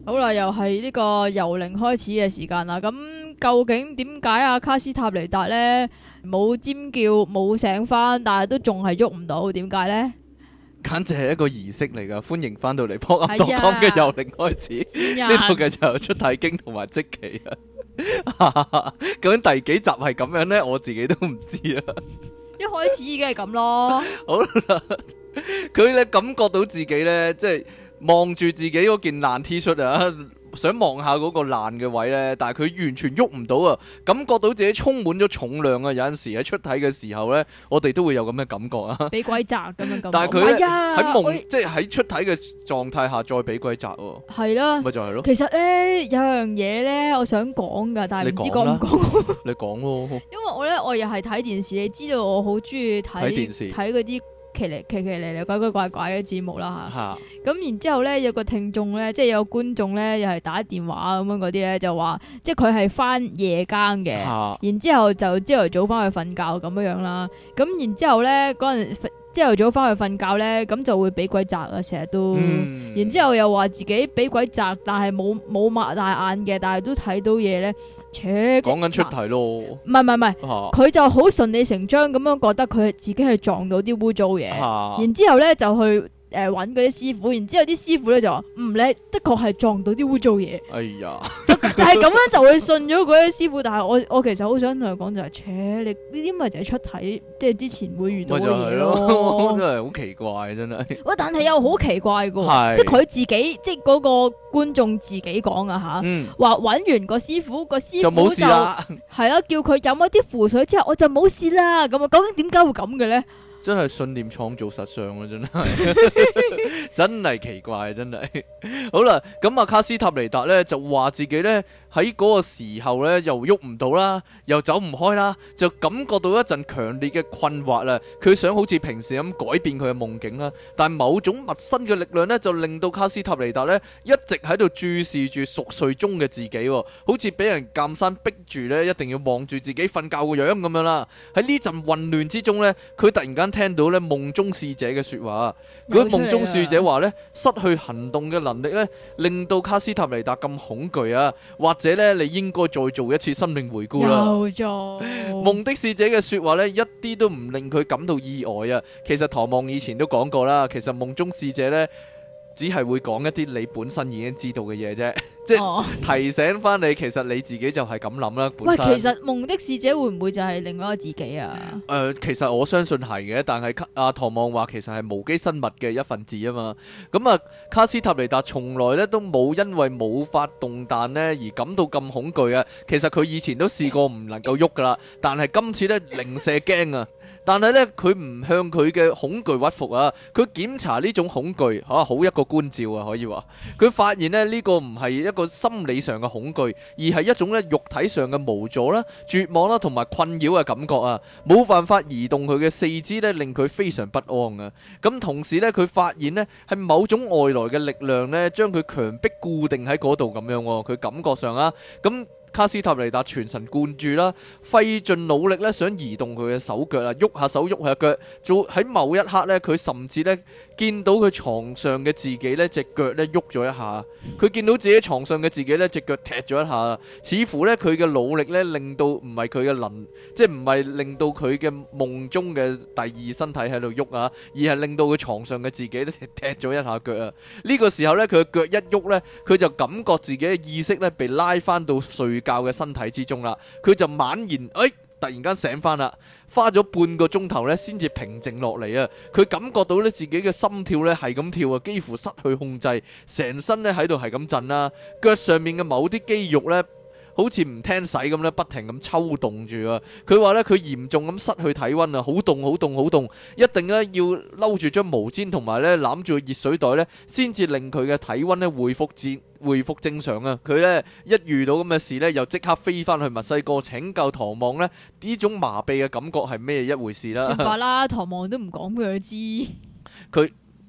好啦，又係呢個由零開始嘅時間啦。咁究竟點解阿卡斯塔尼達呢冇尖叫冇醒翻，但係都仲係喐唔到？點解呢？ 簡直係一個儀式嚟噶。歡迎翻到嚟撲噏當講嘅由零開始，呢度嘅就有出體經同埋積奇啊。究竟第幾集係咁樣呢？我自己都唔知啊。 一開始已經係咁咯。 好啦，佢咧感覺到自己咧，即係望住自己嗰件爛 T 恤啊，想望下嗰個爛嘅位咧，但係佢完全喐唔到啊，感覺到自己充滿咗重量啊。有陣時喺出體嘅時候咧，我哋都會有咁嘅感覺啊。 俾鬼砸咁樣咁。 但係佢咧喺夢， 我即係喺出體嘅狀態下再俾鬼砸喎。 係啦， 咪就係咯。 其實咧有樣嘢咧，我想講噶，但係唔知講唔講。 你講咯。 因為我咧，我又係睇電視，你知道我好中意睇電視睇嗰啲奇嚟奇奇嚟嚟怪怪怪怪嘅節目啦吓。 嚇。 咁然之後咧，有個聽眾咧，即係有個觀眾咧，又係打電話咁樣嗰啲咧，就話即係佢係翻夜更嘅， 啊、 然之後就朝頭早翻去瞓覺咁樣樣啦。咁然之後咧，嗰陣朝頭早翻去瞓覺咧，咁就會俾鬼砸啊，成日都。嗯、然之後又話自己俾鬼砸，但係冇冇擘大眼嘅，但係都睇到嘢咧。切， 講緊出體咯。 唔係唔係唔係，佢、啊、就好順理成章咁樣覺得佢自己係撞到啲污糟嘢，啊、然之後咧就去。誒，揾嗰啲師傅，然之後啲師傅咧就話，嗯，你的確係撞到啲污糟嘢。 哎呀， 就就係咁樣就會信咗嗰啲師傅。但係我我其實好想同佢講就係、是，切，你呢啲咪就係出體，即係之前會遇到嘅嘢咯。 真係好奇怪，真係。 喂，但係又好奇怪噶，即係佢自己，即係嗰個觀眾自己講啊吓，話揾、嗯、完個師傅，個師傅就冇事啦，係咯，叫佢飲一啲符水之後，我就冇事啦。咁啊，究竟點解會咁嘅咧？ 真係信念創造實相啊！真係真係奇怪，真係。好啦，咁啊卡斯塔尼達呢就話自己呢喺嗰個時候呢又喐唔到啦，又走唔開啦，就感覺到一陣強烈嘅困惑啦。佢想好似平時咁改變佢嘅夢境啦，但某種陌生嘅力量呢就令到卡斯塔尼達呢一直喺度注視住熟睡中嘅自己，好似俾人監生逼住呢一定要望住自己瞓覺個樣咁樣啦。喺呢陣混亂之中呢，佢突然間聽到咧夢中使者嘅說話，嗰夢中使者話咧失去行動嘅能力咧，令到卡斯塔尼達咁恐懼啊，或者咧你應該再做一次生命回顧啦。有做夢的使者嘅說話咧，一啲都唔令佢感到意外啊。其實唐望以前都講過啦，其實夢中使者咧只係會講一啲你本身已經知道嘅嘢啫。即係、哦、提醒翻你，其實你自己就係咁諗啦。本身喂，其實夢的使者會唔會就係另外一個自己啊？誒、 呃，其實我相信係嘅，但係阿唐望話其實係無機生物嘅一份子啊嘛。咁啊，卡斯塔尼達從來咧都冇因為冇發動彈呢而感到咁恐懼啊。其實佢以前都試過唔能夠喐噶啦，但係今次咧零舍驚啊。但係咧佢唔向佢嘅恐懼屈服啊。佢檢查呢種恐懼嚇、啊，好一個觀照啊，可以話。佢發現咧呢、呢個唔係一個心理上嘅恐懼，而係一種咧肉體上嘅無助啦、絕望啦同埋困擾嘅感覺啊，冇辦法移動佢嘅四肢咧，令佢非常不安啊。咁同時咧，佢發現咧係某種外來嘅力量咧，將佢強迫固定喺嗰度咁樣。佢感覺上啊，咁。卡斯塔尼達全神貫注啦，費盡努力咧，想移動佢嘅手腳啊，喐下手喐下腳。做喺某一刻咧，佢甚至咧見到佢床上嘅自己咧隻腳咧喐咗一下。佢見到自己床上嘅自己咧隻腳踢咗一下，似乎咧佢嘅努力咧令到唔係佢嘅能，即係唔係令到佢嘅夢中嘅第二身體喺度喐啊，而係令到佢床上嘅自己咧踢咗一下腳啊。呢個時候咧，佢嘅腳一喐咧，佢就感覺自己嘅意識咧被拉翻到睡教嘅身體之中啦，佢就猛然誒、哎，突然間醒翻啦，花咗半個鐘頭咧，先至平靜落嚟啊！佢感覺到咧自己嘅心跳咧係咁跳啊，幾乎失去控制，成身咧喺度係咁震啦，腳上面嘅某啲肌肉咧，好似唔聽使咁咧，不停咁抽動住啊！佢話咧佢嚴重咁失去體溫啊，好凍好凍好凍，一定咧要摟住張毛氈同埋咧攬住個熱水袋咧，先至令佢嘅體溫咧恢復至恢復正常啊！佢咧一遇到咁嘅事咧，又即刻飛翻去墨西哥拯救唐望咧，呢種麻痹嘅感覺係咩一回事啦？ 算罷啦，唐望都唔講俾佢知。 佢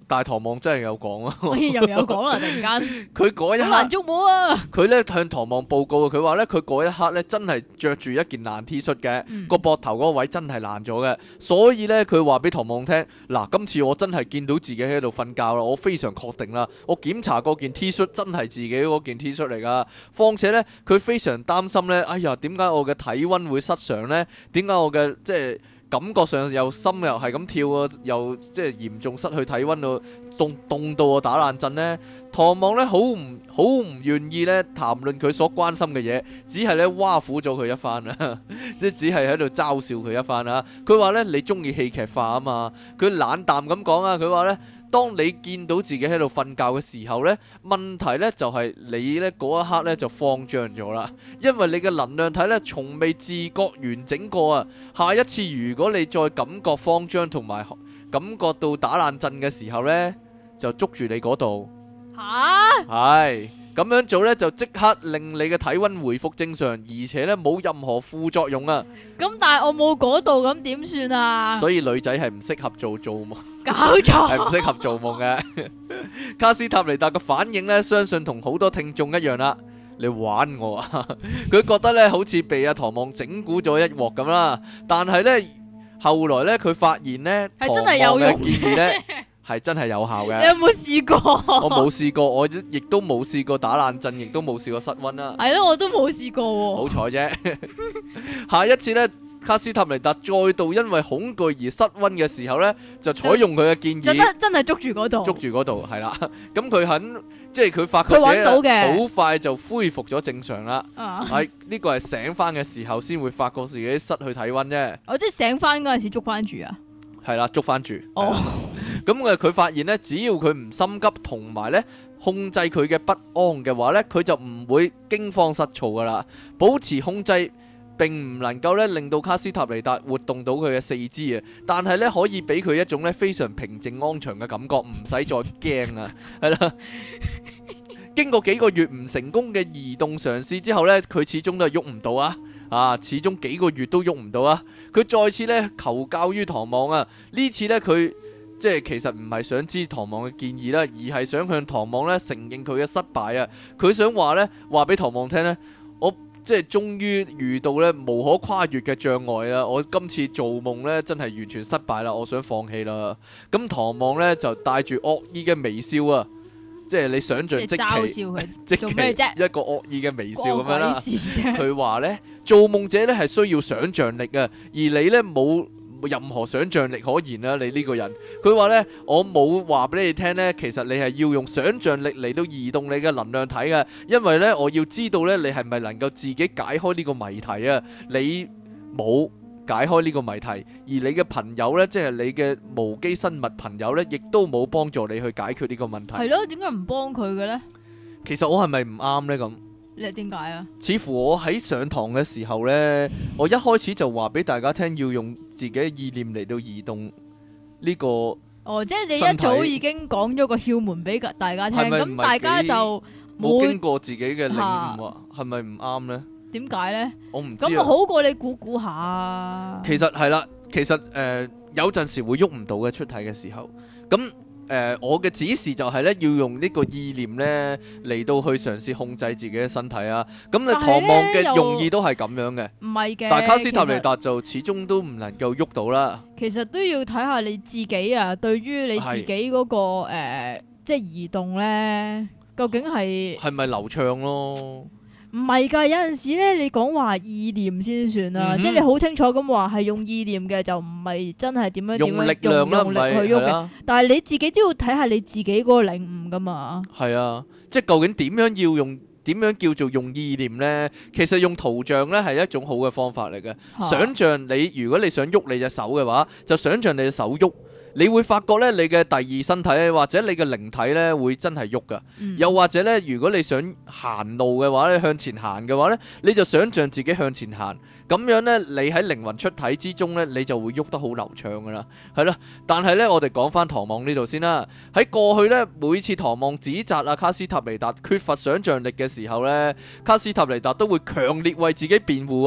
但係唐望真係有講啊， 又有講啦，突然間佢嗰一好難刻， 捉摸啊！ 佢咧向唐望報告，佢話咧佢嗰一刻咧真係着住一件爛 T 恤嘅， 嗯個膊頭嗰個位真係爛咗嘅，所以咧佢話俾唐望聽，嗱，今次我真係見到自己喺度瞓覺啦，我非常確定啦，我檢查嗰件 T 恤真係自己嗰件 T 恤嚟噶，況且咧佢非常擔心咧，哎呀，點解我嘅體溫會失常咧？點解我嘅即係感覺上又心又係咁跳啊，又即係嚴重失去體溫到凍凍到我打冷震呢？唐望呢好唔好唔願意呢談論佢所關心嘅嘢，只係呢挖苦咗佢一番啊，即係只係喺度嘲笑佢一番啊。佢話呢，你中意戲劇化啊嘛，佢冷淡咁講啊，佢話呢，當你見到自己喺度瞓覺嘅時候呢，問題呢就係你呢嗰一刻呢就慌張咗啦，因為你嘅能量體呢從未自覺完整過啊。下一次如果你再感覺慌張同埋感覺到打冷震嘅時候呢，就捉住你嗰度。 吓， 係咁樣做呢，就即刻令你嘅體溫回復正常，而且呢冇任何副作用啊！ 咁但係我冇嗰度，咁點算啊？ 所以女仔係唔適合做做夢， 搞係唔錯， 適合做夢嘅。卡斯塔尼達嘅反應呢，相信同好多聽眾一樣啦。你玩我啊！佢覺得呢好似被阿唐望整蠱咗一鑊咁啦。但係呢，後來呢，佢發現呢， 係真係有用唐望嘅建議呢係真係有效嘅。 你有冇試過？ 我冇試過，我亦都冇試過打冷震，亦都冇試過失溫啦。 係咯，我都冇試過喎。 好彩啫！下一次呢，卡斯塔尼達再度因為恐懼而失溫嘅時候呢，就採用佢嘅建真議， 得真係捉住嗰度， 捉住嗰度係啦。咁佢肯，即係佢發覺佢揾到嘅好快就恢復咗正常啦。 啊！ 係呢個係醒翻嘅時候先會發覺自己失去體溫啫。 我即係醒翻嗰陣時捉翻住啊！ 係啦，捉翻住。 哦， 咁誒，佢發現呢，只要佢唔心急，同埋呢控制佢嘅不安嘅話呢，佢就唔會驚慌失措噶啦。保持控制並唔能夠呢令到卡斯塔尼達活動到佢嘅四肢啊，但係呢可以俾佢一種呢非常平靜安詳嘅感覺，唔使再驚啊，係啦。經過幾個月唔成功嘅移動嘗試之後呢，佢始終都係喐唔到啊！啊，始終幾個月都喐唔到啊！佢再次呢求教於唐望啊，呢次呢，佢即係其實唔係想知唐望嘅建議啦，而係想向唐望呢承認佢嘅失敗啊！佢想話呢話俾唐望聽呢，我即係終於遇到呢無可跨越嘅障礙啦！我今次做夢呢真係完全失敗啦，我想放棄啦！咁唐望呢就帶住惡意嘅微笑啊！即係你想象即嘲笑佢即做咩啫？ 一個惡意嘅微笑咁樣啦。 佢佢話呢，做夢者呢係需要想像力啊，而你呢冇任何想像力可言啦。你呢個人，佢話呢，我冇話俾你聽呢，其實你係要用想像力嚟到移動你嘅能量體嘅，因為呢，我要知道呢，你係咪能夠自己解開呢個謎題啊？你冇解開呢個謎題，而你嘅朋友呢，即係你嘅無機生物朋友呢，亦都冇幫助你去解決呢個問題。 係咯，點解唔幫佢嘅呢？ 其實我係咪唔啱呢？咁你點解啊？ 似乎我喺上堂嘅時候呢，我一開始就話俾大家聽，要用自己嘅意念嚟到移動呢個。 哦，即係你一早已經講咗個竅門俾大家聽，咁大家就冇經過自己嘅領悟啊？係咪唔啱呢？ 點解呢？ 我唔知啊。 咁好過你估估下。 其實係啦，其實誒、呃、有陣時會喐唔到嘅出體嘅時候，咁誒、呃、我嘅指示就係咧要用呢個意念咧嚟到去嘗試控制自己嘅身體啊。咁你唐望嘅用意都係咁樣嘅， 唔係嘅。 但係卡斯塔尼達就始終都唔能夠喐到啦。 其實都要睇下你自己啊，對於你自己嗰、那個誒、呃，即係移動咧，究竟係係咪流暢咯？ 唔係㗎，有陣時咧，你講話意念先算啦，嗯、即係你好清楚咁話係用意念嘅，就唔係真係點樣點樣用力量啦， 用力去喐嘅。但係你自己都要睇下你自己嗰個領悟㗎嘛。係啊，即係究竟點樣要用？點樣叫做用意念呢？其實用圖像呢係一種好嘅方法嚟嘅。啊、想像你如果你想喐你隻手嘅話，就想像你隻手喐。你會發覺咧，你嘅第二身體或者你嘅靈體咧，會真係喐噶。嗯、又或者咧，如果你想行路嘅話咧，向前行嘅話咧，你就想像自己向前行。咁樣咧，你喺靈魂出體之中咧，你就會喐得好流暢噶啦。係啦，但係咧，我哋講翻唐望呢度先啦。喺過去咧，每次唐望指責阿卡斯塔尼達缺乏想像力嘅時候咧，卡斯塔尼達都會強烈為自己辯護啊。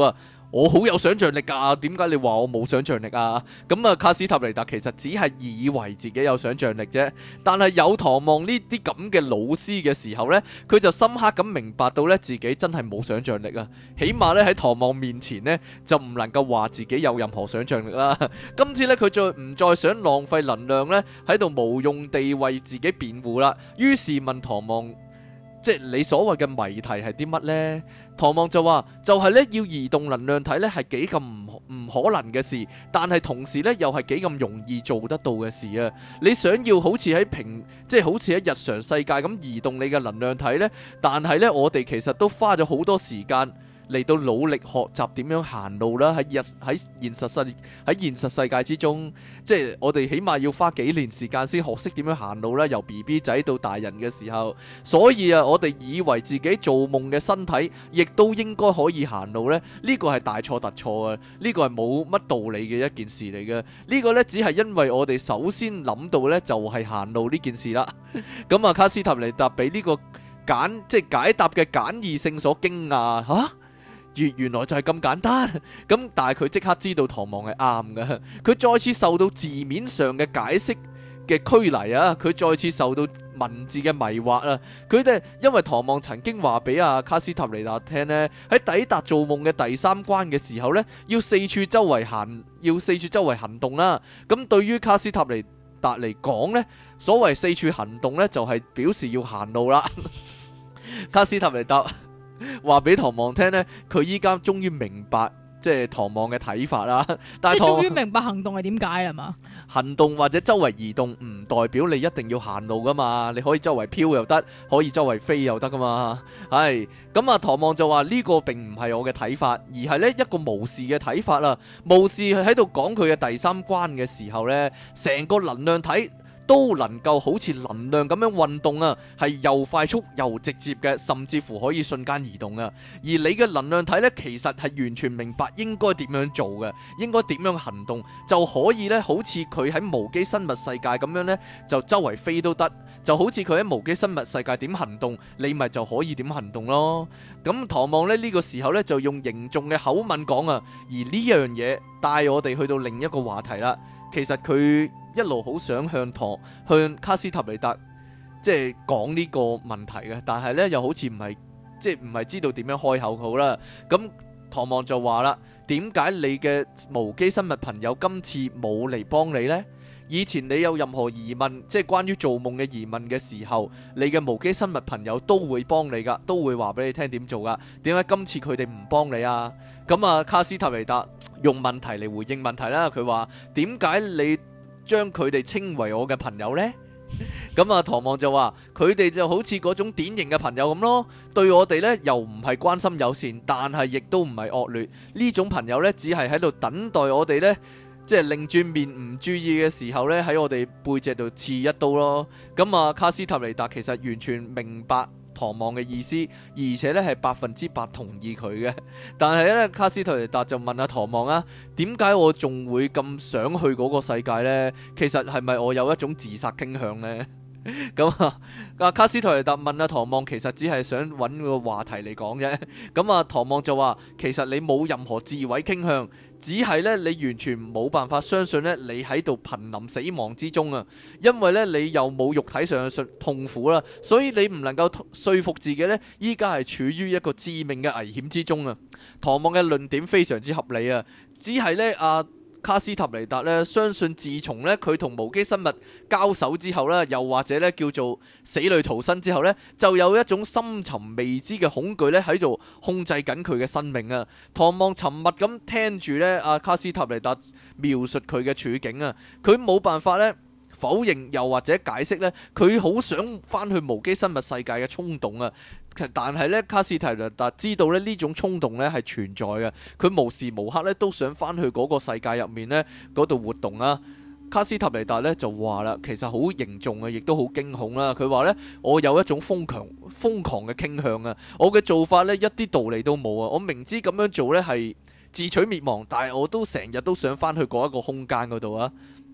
我好有想像力㗎，點解你話我冇想像力啊？咁啊，卡斯塔尼達其實只係以為自己有想像力啫。但係有唐望呢啲咁嘅老師嘅時候呢，佢就深刻咁明白到呢，自己真係冇想像力啊。起碼呢，喺唐望面前呢，就唔能夠話自己有任何想像力啦。今次呢，佢再唔再想浪費能量呢，喺度無用地為自己辯護啦。於是問唐望，即係你所謂嘅謎題係啲乜呢？唐望就話就係咧要移動能量體咧係幾咁唔唔可能嘅事，但係同時咧又係幾咁容易做得到嘅事啊！你想要好似喺平即係好似喺日常世界咁移動你嘅能量體呢，但係呢，我哋其實都花咗好多時間嚟到努力學習點樣行路啦，喺日喺現實世喺現實世界之中，即係我哋起碼要花幾年時間先學識點樣行路啦，由 B B 仔到大人嘅時候。所以啊，我哋以為自己做夢嘅身體亦都應該可以行路呢，呢個係大錯特錯啊！呢個係冇乜道理嘅一件事嚟嘅。呢個呢，只係因為我哋首先諗到呢，就係行路呢件事啦。咁啊，卡斯塔尼達俾呢個簡即係解答嘅簡易性所驚訝嚇。原原來就係咁簡單，咁但係佢即刻知道唐望係啱嘅，佢再次受到字面上嘅解釋嘅拘泥啊，佢再次受到文字嘅迷惑啊，佢哋因為唐望曾經話俾阿卡斯塔尼達聽呢，喺抵達做夢嘅第三關嘅時候呢，要四處周圍行，要四處周圍行動啦。咁對於卡斯塔尼達嚟講呢，所謂四處行動呢，就係表示要行路啦。卡斯塔尼達話俾唐望聽呢，佢依家終於明白即係唐望嘅睇法啦。但係即係終於明白行動係點解啦嘛？ 行動或者周圍移動唔代表你一定要行路噶嘛，你可以周圍飄又得，可以周圍飛又得噶嘛。係咁啊，唐望就話呢個並唔係我嘅睇法，而係呢一個巫士嘅睇法啦。巫士喺度講佢嘅第三關嘅時候呢，成個能量體都能夠好似能量咁樣運動啊，係又快速又直接嘅，甚至乎可以瞬間移動啊。而你嘅能量體呢，其實係完全明白應該點樣做嘅，應該點樣行動，就可以呢，好似佢喺無機生物世界咁樣呢，就周圍飛都得，就好似佢喺無機生物世界點行動，你咪就可以點行動咯。咁唐望呢，呢、呢個時候呢，就用凝重嘅口吻講啊，而呢樣嘢帶我哋去到另一個話題啦。其實佢一路好想向唐向卡斯塔尼達即係講呢個問題嘅，但係呢又好似唔係即係唔係知道點樣開口好啦。咁唐望就話啦，點解你嘅無機生物朋友今次冇嚟幫你呢？以前你有任何疑問，即係關於做夢嘅疑問嘅時候，你嘅無機生物朋友都會幫你噶，都會話俾你聽點做噶。點解今次佢哋唔幫你啊？咁啊，卡斯塔尼達用問題嚟回應問題啦。佢話，點解你將佢哋稱為我嘅朋友呢？咁啊，唐望就話佢哋就好似嗰種典型嘅朋友咁咯，對我哋呢又唔係關心友善，但係亦都唔係惡劣。呢種朋友呢，只係喺度等待我哋呢，即係擰轉面唔注意嘅時候呢，喺我哋背脊度刺一刀咯。咁啊，卡斯塔尼達其實完全明白唐望嘅意思，而且咧係百分之百同意佢嘅。但係咧，卡斯塔尼達就問阿唐望啊，點解我仲會咁想去嗰個世界呢？其實係咪我有一種自殺傾向呢？咁啊，阿卡斯塔尼達問阿唐望，其實只係想揾個話題嚟講啫。咁啊，唐望就話，其實你冇任何自毀傾向，只係咧你完全冇辦法相信咧你喺度瀕臨死亡之中啊，因為咧你又冇肉體上嘅痛苦啦，所以你唔能夠說服自己咧依家係處於一個致命嘅危險之中啊。唐望嘅論點非常之合理啊，只係咧阿卡斯塔尼達咧相信，自從咧佢同無機生物交手之後咧，又或者咧叫做死裏逃生之後咧，就有一種深沉未知嘅恐懼咧喺度控制緊佢嘅生命啊。唐望沉默咁聽住咧阿卡斯塔尼達描述佢嘅處境啊，佢冇辦法咧否認又或者解釋咧佢好想翻去無機生物世界嘅衝動啊。但係咧，卡斯塔尼達知道咧呢種衝動咧係存在嘅，佢無時無刻咧都想翻去嗰個世界入面咧嗰度活動啊。卡斯塔尼達咧就話啦，其實好凝重啊，亦都好驚恐啦。佢話咧，我有一種瘋狂瘋狂嘅傾向啊，我嘅做法咧一啲道理都冇啊。我明知咁樣做咧係自取滅亡，但係我都成日都想翻去嗰一個空間嗰度啊。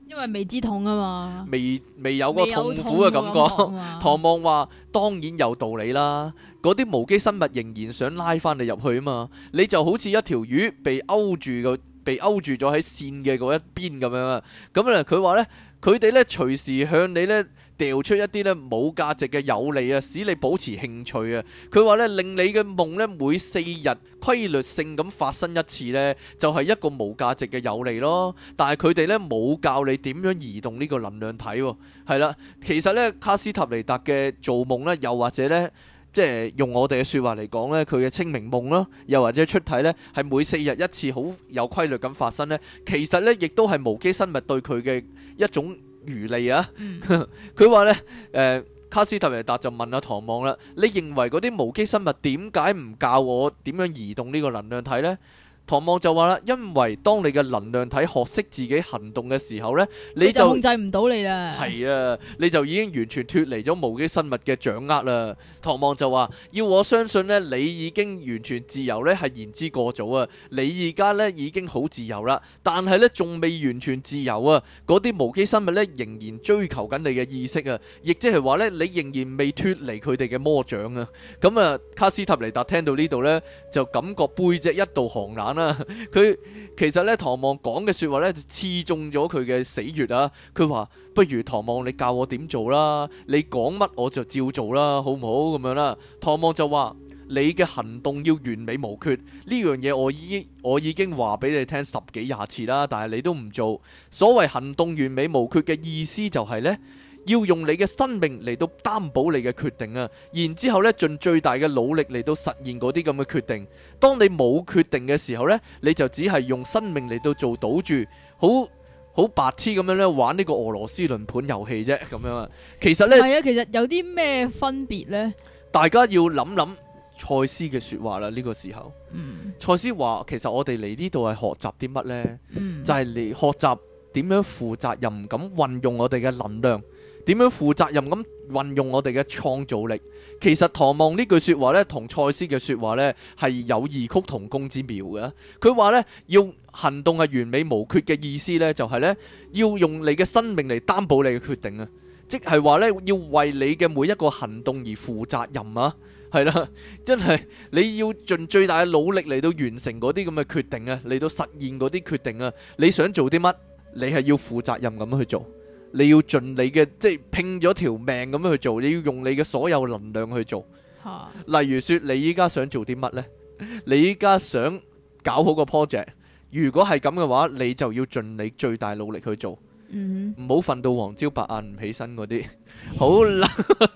因為未知痛啊嘛， 未未有個痛苦嘅感覺。唐望話：當然有道理啦，嗰啲無機生物仍然想拉翻你入去啊嘛，你就好似一條魚被勾住個。被勾住咗喺線嘅嗰一邊咁樣啊，咁咧佢話呢，佢哋呢隨時向你呢掉出一啲呢冇價值嘅有利啊，使你保持興趣啊。佢話呢，令你嘅夢呢每四日規律性咁發生一次呢，就係一個無價值嘅有利咯。但係佢哋呢冇教你點樣移動呢個能量體喎。係啦，其實呢，卡斯塔尼達嘅做夢呢，又或者呢。即係用我哋嘅説話嚟講呢，佢嘅清明夢啦，又或者出體呢，係每四日一次，好有規律咁發生呢。其實呢，亦都係無機生物對佢嘅一種漁利啊。佢話、嗯、呢，誒、呃、卡斯特維達就問阿唐望啦：你認為嗰啲無機生物點解唔教我點樣移動呢個能量體呢？唐望就話啦，因為當你嘅能量體學識自己行動嘅時候呢，你就， 你就控制唔到你啦。 係啊，你就已經完全脫離咗無機生物嘅掌握啦。唐望就話，要我相信呢，你已經完全自由呢係言之過早啊。你而家呢已經好自由啦，但係呢仲未完全自由啊。嗰啲無機生物呢仍然追求緊你嘅意識啊，亦即係話呢，你仍然未脫離佢哋嘅魔掌啊。咁啊，卡斯塔尼達聽到呢度呢，就感覺背脊一道寒冷。佢其實咧，唐望講嘅說話咧，就刺中咗佢嘅死穴啊！佢話：不如唐望你教我點做啦，你講乜我就照做啦，好唔好咁樣啦？唐望就話：你嘅行動要完美無缺，呢樣嘢我已經我已經話俾你聽十幾廿次啦，但係你都唔做。所謂行動完美無缺嘅意思就係呢。要用你嘅生命嚟到擔保你嘅決定啊，然之後咧盡最大嘅努力嚟到實現嗰啲咁嘅決定。當你冇決定嘅時候呢，你就只係用生命嚟到做賭注，好好白痴咁樣咧玩呢個俄羅斯輪盤遊戲啫，咁樣啊。其實呢， 係啊，其實有啲咩分別呢？ 大家要諗諗賽斯嘅說話啦。呢、這個時候，嗯，賽斯話其實我哋嚟呢度係學習啲乜呢？嗯、就係嚟學習點樣負責任咁運用我哋嘅能量。點樣負責任咁運用我哋嘅創造力？其實唐望呢句說話呢，同賽斯嘅說話呢，係有異曲同工之妙嘅。佢話呢，要行動係完美無缺嘅意思呢，就係呢，要用你嘅生命嚟擔保你嘅決定啊！即係話呢，要為你嘅每一個行動而負責任啊！係啦，真係你要盡最大嘅努力嚟到完成嗰啲咁嘅決定啊，嚟到實現嗰啲決定啊！你想做啲乜？你係要負責任咁去做。你要盡你嘅，即係拼咗條命咁樣去做，你要用你嘅所有能量去做。哈例如說，你依家想做啲乜呢？你依家想搞好個 project，如果係咁嘅話，你就要盡你最大努力去做。唔好瞓到黃朝白晏唔起身嗰啲。好啦。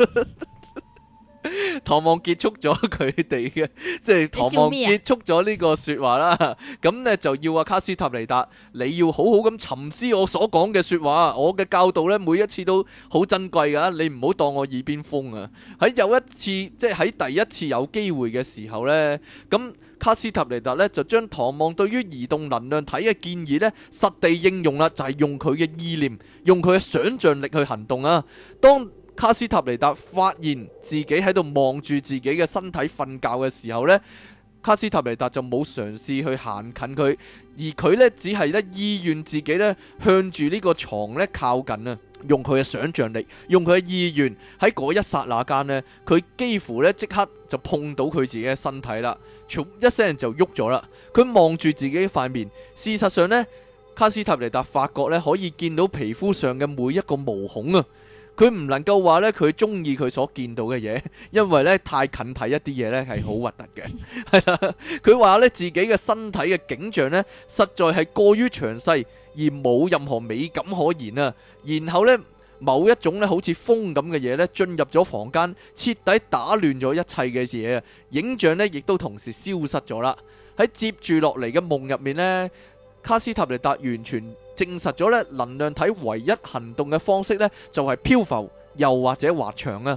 唐望結束咗佢哋嘅，即係唐望結束咗呢個說話啦。咁呢就要阿卡斯塔尼達，你要好好咁沉思我所講嘅說話。我嘅教導呢，每一次都好珍貴噶，你唔好當我耳邊風啊。喺有一次，即係喺第一次有機會嘅時候呢，咁卡斯塔尼達呢就將唐望對於移動能量體嘅建議呢實地應用啦，就係用佢嘅意念，用佢嘅想象力去行動啊。當卡斯塔尼達發現自己喺度望住自己嘅身體瞓覺嘅時候呢，卡斯塔尼達就冇嘗試去行近佢，而佢呢只係咧意願自己咧向住呢個床咧靠近啊，用佢嘅想象力，用佢嘅意願，喺嗰一剎那間呢，佢幾乎咧即刻就碰到佢自己嘅身體啦，唰一聲就喐咗啦。佢望住自己塊面，事實上呢，卡斯塔尼達發覺咧可以見到皮膚上嘅每一個毛孔啊。佢唔能夠話咧佢中意佢所見到嘅嘢，因為咧太近睇一啲嘢咧係好核突嘅。係啦，佢話咧自己嘅身體嘅景象咧實在係過於詳細而冇任何美感可言啊。然後咧某一種咧好似風咁嘅嘢咧進入咗房間，徹底打亂咗一切嘅嘢啊。影像咧亦都同時消失咗啦。喺接住落嚟嘅夢入面咧，卡斯塔尼達完全證實咗咧能量體唯一行動嘅方式咧就係漂浮又或者滑翔啊。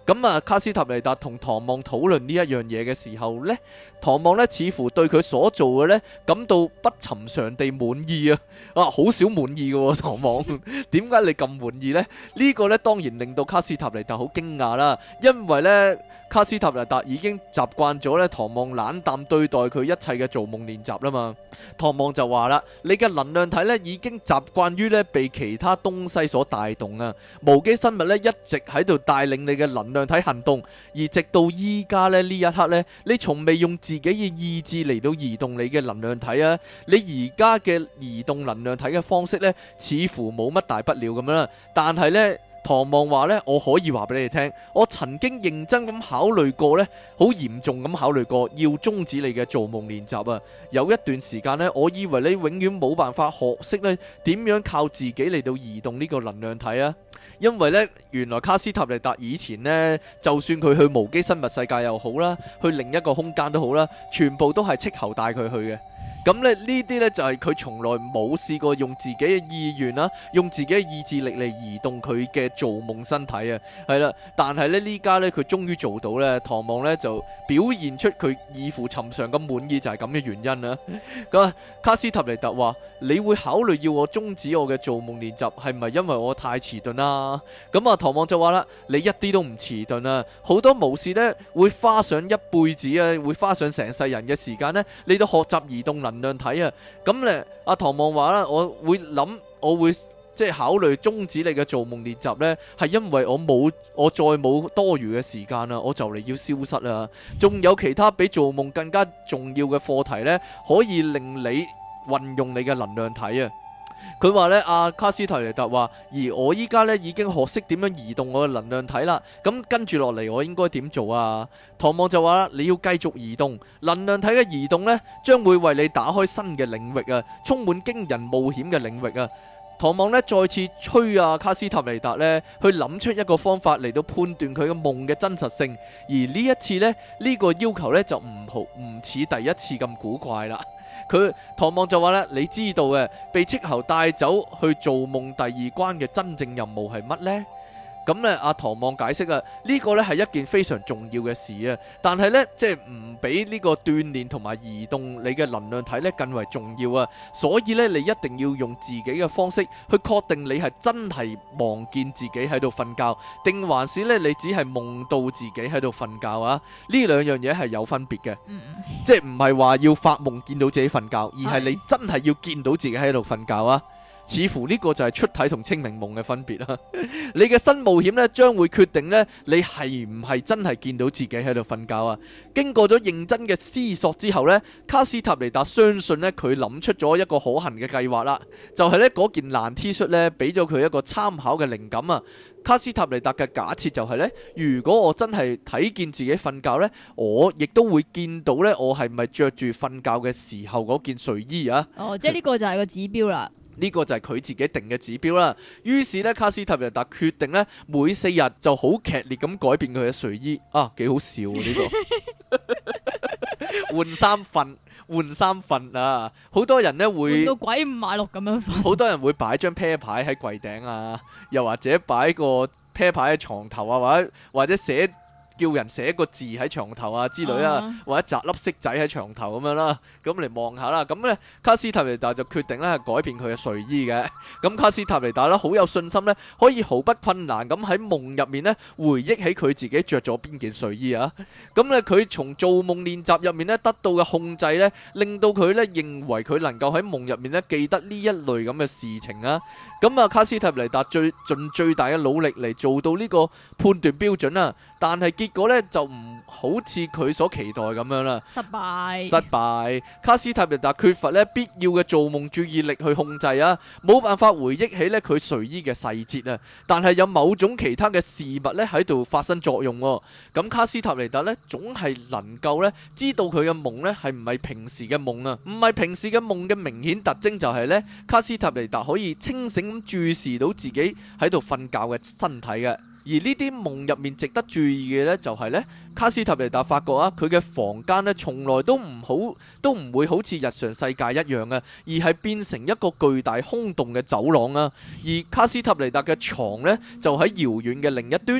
咁啊，卡斯塔尼達同唐望討論呢一樣嘢嘅時候呢，唐望呢似乎對佢所做嘅呢感到不尋常地滿意啊！啊，好少滿意嘅喎，唐望，點解你咁滿意呢？呢、呢個呢當然令到卡斯塔尼達好驚訝啦，因為呢，卡斯塔尼達已經習慣咗呢唐望冷淡對待佢一切嘅做夢練習啦嘛。唐望就話啦：你嘅能量體呢已經習慣於呢被其他東西所帶動啊，無機生物呢一直喺度帶領你嘅能量體行動，而直到依家呢呢一刻呢，你從未用自己嘅意志嚟到移動你嘅能量體啊！你而家嘅移動能量體嘅方式呢，似乎冇乜大不了咁樣啦，但係呢，唐望話呢，我可以話俾你哋聽，我曾經認真咁考慮過呢，好嚴重咁考慮過要終止你嘅做夢練習啊！有一段時間呢，我以為你永遠冇辦法學識呢點樣靠自己嚟到移動呢個能量體啊！因為呢，原來卡斯塔尼達以前呢，就算佢去無機生物世界又好啦，去另一個空間都好啦，全部都係斥候帶佢去嘅。咁咧呢啲呢，就係佢從來冇試過用自己嘅意願啦，用自己嘅意志力嚟移動佢嘅做夢身體啊，係啦。但係呢，呢家呢，佢終於做到呢，唐望呢，就表現出佢異乎尋常咁滿意，就係咁嘅原因啦。咁卡斯塔尼達話：你會考慮要我終止我嘅做夢練習，係咪因為我太遲鈍啦？咁啊，唐望就話啦：你一啲都唔遲鈍啊！好多巫士呢，會花上一輩子啊，會花上成世人嘅時間呢，嚟到學習移動能量體啊！咁咧，阿唐望話啦，我會諗，我會即係考慮終止你嘅做夢練習呢，係因為我冇，我再冇多餘嘅時間啦，我就嚟要消失啦。仲有其他比做夢更加重要嘅課題呢，可以令你運用你嘅能量體啊！佢話呢，阿卡斯泰尼達話，而我依家呢已經學識點樣移動我嘅能量體啦。咁跟住落嚟，我應該點做啊？唐望就話啦，你要繼續移動能量體嘅移動呢，將會為你打開新嘅領域啊，充滿驚人冒險嘅領域啊。唐望呢再次催啊卡斯塔尼達呢去諗出一個方法嚟到判斷佢嘅夢嘅真實性，而呢一次呢，呢、呢個要求呢就唔好唔似第一次咁古怪啦。佢唐望就話咧，你知道嘅被斥候帶走去做夢第二關嘅真正任務係乜呢？咁咧，阿唐望解釋啊，呢個咧係一件非常重要嘅事啊，但係咧即係唔比呢個鍛煉同埋移動你嘅能量體咧更為重要啊，所以咧你一定要用自己嘅方式去確定你係真係望見自己喺度瞓覺，定還是咧你只係夢到自己喺度瞓覺啊？呢兩樣嘢係有分別嘅，嗯、即係唔係話要發夢見到自己瞓覺，而係你真係要見到自己喺度瞓覺啊！似乎呢個就係出體同清明夢嘅分別啦。你嘅新冒險呢，將會決定呢，你係唔係真係見到自己喺度瞓覺啊？經過咗認真嘅思索之後呢，卡斯塔尼達相信呢，佢諗出咗一個可行嘅計劃啦。就係呢嗰件爛 T 恤呢，俾咗佢一個參考嘅靈感啊。卡斯塔尼達嘅假設就係呢：如果我真係睇見自己瞓覺呢，我亦都會見到呢，我係咪着住瞓覺嘅時候嗰件睡衣啊？ 哦，即係呢個就係個指標啦。 呢個就係佢自己定嘅指標啦。於是呢，卡斯塔尼達決定呢，每四日就好劇烈咁改變佢嘅睡衣。啊，幾好笑呢、啊呢個換衫瞓，換衫瞓啊！好多人呢會換到鬼五馬六咁樣瞓。 好多人會擺張啤牌喺櫃頂啊，又或者擺個啤牌喺床頭啊，或者或者寫。叫人寫個字喺床頭啊之類啊，uh huh. 或者摘粒色仔喺床頭咁樣啦，咁嚟望下啦。咁呢，卡斯塔尼達就決定咧係改變佢嘅睡衣嘅。咁卡斯塔尼達咧好有信心呢，可以毫不困難咁喺夢入面呢回憶起佢自己着咗邊件睡衣啊。咁呢，佢從做夢練習入面呢得到嘅控制呢，令到佢呢認為佢能夠喺夢入面呢記得呢一類咁嘅事情啊。咁啊，卡斯塔尼達最盡最大嘅努力嚟做到呢個判斷標準啊，但係結果咧就唔好似佢所期待咁樣啦， 失敗， 失敗。卡斯塔尼達缺乏咧必要嘅做夢注意力去控制啊，冇辦法回憶起咧佢睡衣嘅細節啊。但係有某種其他嘅事物咧喺度發生作用喎。咁卡斯塔尼達咧總係能夠咧知道佢嘅夢咧係唔係平時嘅夢啊？唔係平時嘅夢嘅明顯特徵就係咧，卡斯塔尼達可以清醒咁注視到自己喺度瞓覺嘅身體嘅。而呢啲夢入面值得注意嘅呢，就係呢卡斯塔尼達發覺啊，佢嘅房間呢，從來都唔好，都唔會好似日常世界一樣啊，而係變成一個巨大空洞嘅走廊啊。而卡斯塔尼達嘅床呢，就喺遙遠嘅另一端。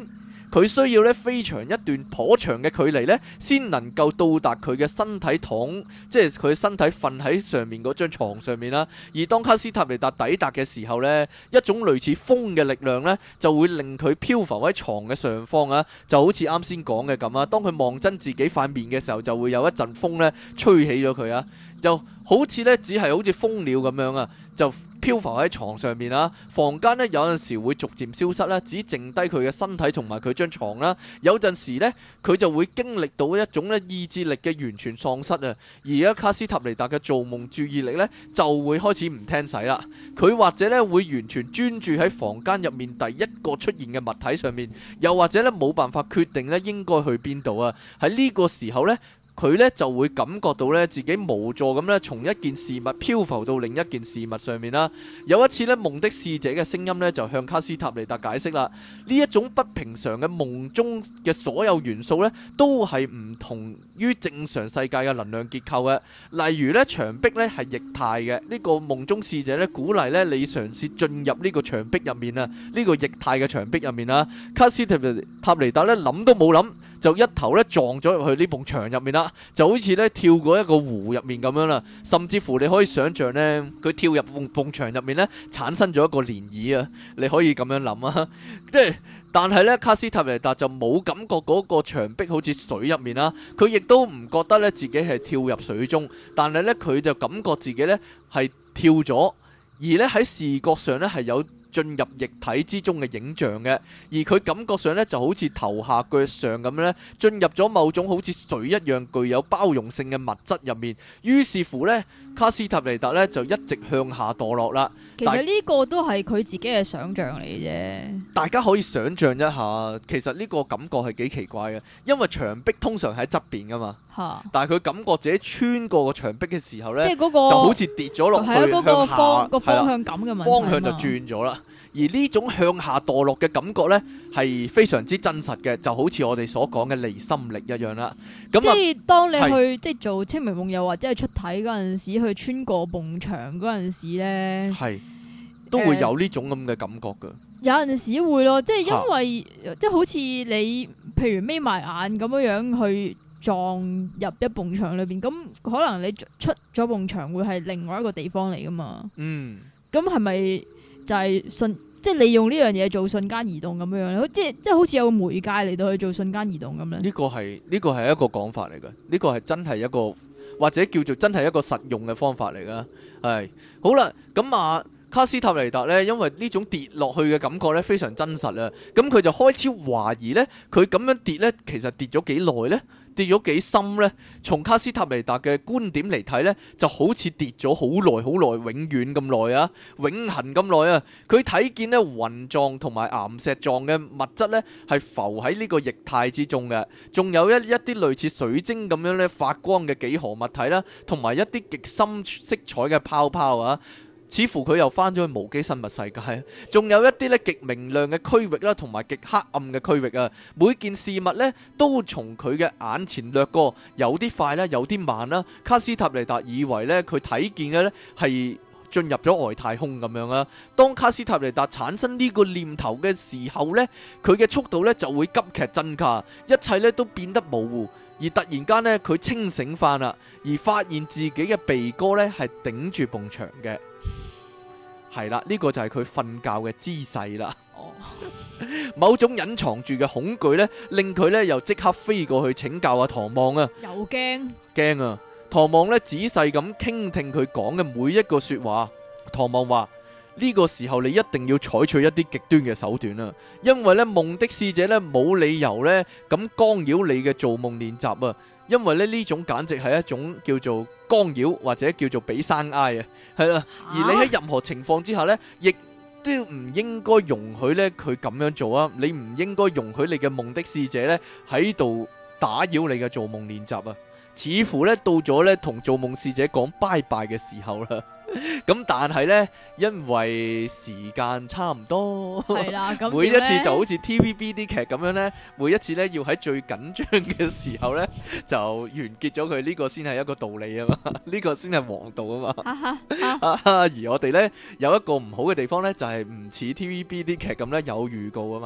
佢需要咧飛長一段頗長嘅距離咧，先能夠到達佢嘅身體躺，即係佢身體瞓喺上面嗰張床上面啦。而當卡斯塔尼達抵達嘅時候呢，一種類似風嘅力量呢，就會令佢漂浮喺床嘅上方啊，就好似啱先講嘅咁啊。當佢望真自己塊面嘅時候，就會有一陣風呢吹起咗佢啊，就好似呢，只係好似蜂鳥咁樣啊，就漂浮喺床上面啦。房間呢，有陣時會逐漸消失啦，只剩低佢嘅身體同埋佢張床啦。有陣時呢，佢就會經歷到一種呢意志力嘅完全喪失啊。而家卡斯塔尼達嘅做夢注意力呢，就會開始唔聽使啦。佢或者呢，會完全專注喺房間入面第一個出現嘅物體上面，又或者呢，冇辦法決定呢應該去邊度啊。喺呢個時候呢，佢咧就會感覺到咧自己無助咁咧，從一件事物漂浮到另一件事物上面啦。有一次咧，夢的使者嘅聲音咧就向卡斯塔尼達解釋啦，呢一種不平常嘅夢中嘅所有元素咧，都係唔同於正常世界嘅能量結構嘅。例如咧，牆壁咧係液態嘅，呢個夢中使者咧鼓勵咧你嘗試進入呢個牆壁入面啊，呢個液態嘅牆壁入面啊。卡斯塔尼達咧諗都冇諗，就一頭咧撞咗入去呢埲牆入面啦。就好似咧跳過一個湖入面咁樣啦，甚至乎你可以想象呢，佢跳入埲埲牆入面呢，產生咗一個漣漪啊！你可以咁樣諗啊，即係但係呢，卡斯塔尼達就冇感覺嗰個牆壁好似水入面啦，佢亦都唔覺得咧自己係跳入水中，但係呢，佢就感覺自己呢係跳咗，而呢喺視覺上呢係有進入液體之中嘅影像嘅，而佢感覺上咧就好似頭下腳上咁咧，進入咗某種好似水一樣具有包容性嘅物質入面。於是乎咧，卡斯塔尼達咧就一直向下墮落啦。 其實呢個都係佢自己嘅想像嚟嘅啫。大家可以想像一下，其實呢個感覺係幾奇怪嘅，因為牆壁通常喺側邊噶嘛。嚇！但係佢感覺自己穿過個牆壁嘅時候咧，即係嗰個就好似跌咗落去， 係嗰個方個方向感嘅問題， 方向就轉咗啦。而呢種向下墮落嘅感覺呢，係非常之真實嘅，就好似我哋所講嘅離心力一樣啦。咁即係當你去即係做清明夢又或者係出體嗰陣時，去穿過埲牆嗰陣時咧， 係都會有呢種咁嘅感覺㗎。 有陣時會咯，即係因為即係好似你譬如眯埋眼咁樣樣去撞入一埲牆裏邊，咁可能你出咗埲牆會係另外一個地方嚟噶嘛。嗯，咁係咪就係瞬即係利用呢樣嘢做瞬間移動咁樣樣，即係即係好似有個媒介嚟到去做瞬間移動咁咧？呢個係呢個係一個講法嚟嘅，呢個係真係一個或者叫做真係一個實用嘅方法嚟噶。係好啦，咁啊卡斯塔尼達呢，因為呢種跌落去嘅感覺呢非常真實啊，咁佢就開始懷疑呢，佢咁樣跌呢，其實跌咗幾耐呢？跌咗幾深呢？從卡斯塔尼達嘅觀點嚟睇呢，就好似跌咗好耐好耐，永遠咁耐啊，永恆咁耐啊！佢睇見呢雲狀同埋岩石狀嘅物質呢，係浮喺呢個液態之中嘅，仲有一一啲類似水晶咁樣呢發光嘅幾何物體啦，同埋一啲極深色彩嘅泡泡啊！似乎佢又翻咗去無機生物世界，仲有一啲咧極明亮嘅區域啦，同埋極黑暗嘅區域啊！每件事物咧都從佢嘅眼前掠過，有啲快啦，有啲慢啦。卡斯塔尼達以為咧佢睇見嘅咧係進入咗外太空咁樣啊！當卡斯塔尼達產生呢個念頭嘅時候咧，佢嘅速度咧就會急劇增加，一切咧都變得模糊。而突然間咧，佢清醒翻啦，而發現自己嘅鼻哥咧係頂住埲牆嘅。係啦，呢個就係佢瞓覺嘅姿勢啦。哦，某種隱藏住嘅恐懼呢，令佢呢又即刻飛過去請教阿唐望啊。 又驚驚啊！唐望呢仔細咁傾聽佢講嘅每一個說話。唐望話：呢個時候你一定要採取一啲極端嘅手段啊，因為呢夢的使者呢冇理由呢咁干擾你嘅做夢練習啊。因為咧呢種簡直係一種叫做干擾或者叫做俾生挨啊，係啦。而你喺任何情況之下呢，亦都唔應該容許呢佢咁樣做啊。你唔應該容許你嘅夢的使者呢喺度打擾你嘅做夢練習啊。似乎呢到咗呢同做夢使者講拜拜嘅時候啦。咁但係呢，因為時間差唔多，係啦，咁每一次就好似 T V B 啲劇咁樣呢，每一次呢要喺最緊張嘅時候呢就完結咗佢，呢個先係一個道理啊嘛，呢個先係王道啊嘛。而我哋呢有一個唔好嘅地方呢，就係唔似 T V B 啲劇咁呢有預告啊嘛。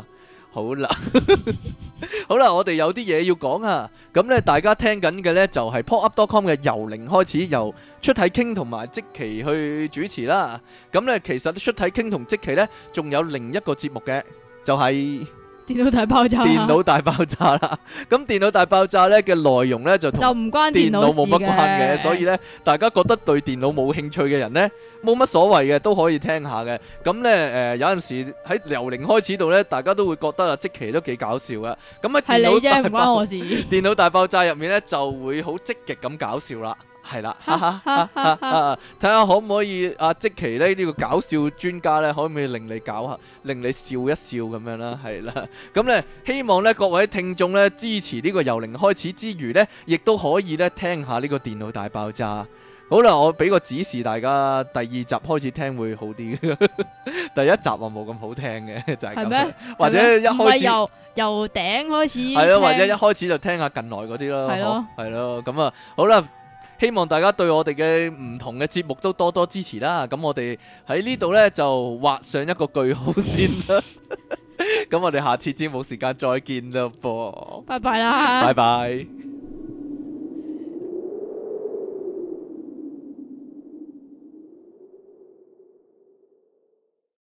好啦，好啦，我哋有啲嘢要講啊。咁咧，大家聽緊嘅咧就係 pop up dot com 嘅由零開始，由出體傾同埋積奇去主持啦。咁咧，其實出體傾同積奇咧，仲有另一個節目嘅，就係、是。 電腦大爆炸， 電腦大爆炸啦！咁電腦大爆炸咧嘅內容咧就同就唔關電腦冇乜關嘅，所以咧大家覺得對電腦冇興趣嘅人咧冇乜所謂嘅，都可以聽下嘅。咁咧誒有陣時喺由零開始度咧，大家都會覺得啊積淇都幾搞笑噶。咁啊係你啫，唔關我事。 電腦大爆炸入面咧就會好積極咁搞笑啦。係啦，睇下可唔可以阿積淇咧呢個搞笑專家咧，可唔可以令你搞下，令你笑一笑咁樣啦？係啦，咁咧希望咧各位聽眾咧支持呢個由零開始之餘咧，亦都可以咧聽下呢個電腦大爆炸。好啦，我俾個指示大家，第二集開始聽會好啲，第一集啊冇咁好聽嘅，就係咁。係咩？或者一開始由由頂開始， 係咯，或者一開始就聽下近來嗰啲咯，係咯，係咯，咁啊，好啦。希望大家對我哋嘅唔同嘅節目都多多支持啦，咁我哋喺呢度呢，就畫上一個句號先啦，咁我哋下次節目時間再見啦噃， 拜拜啦， 拜拜。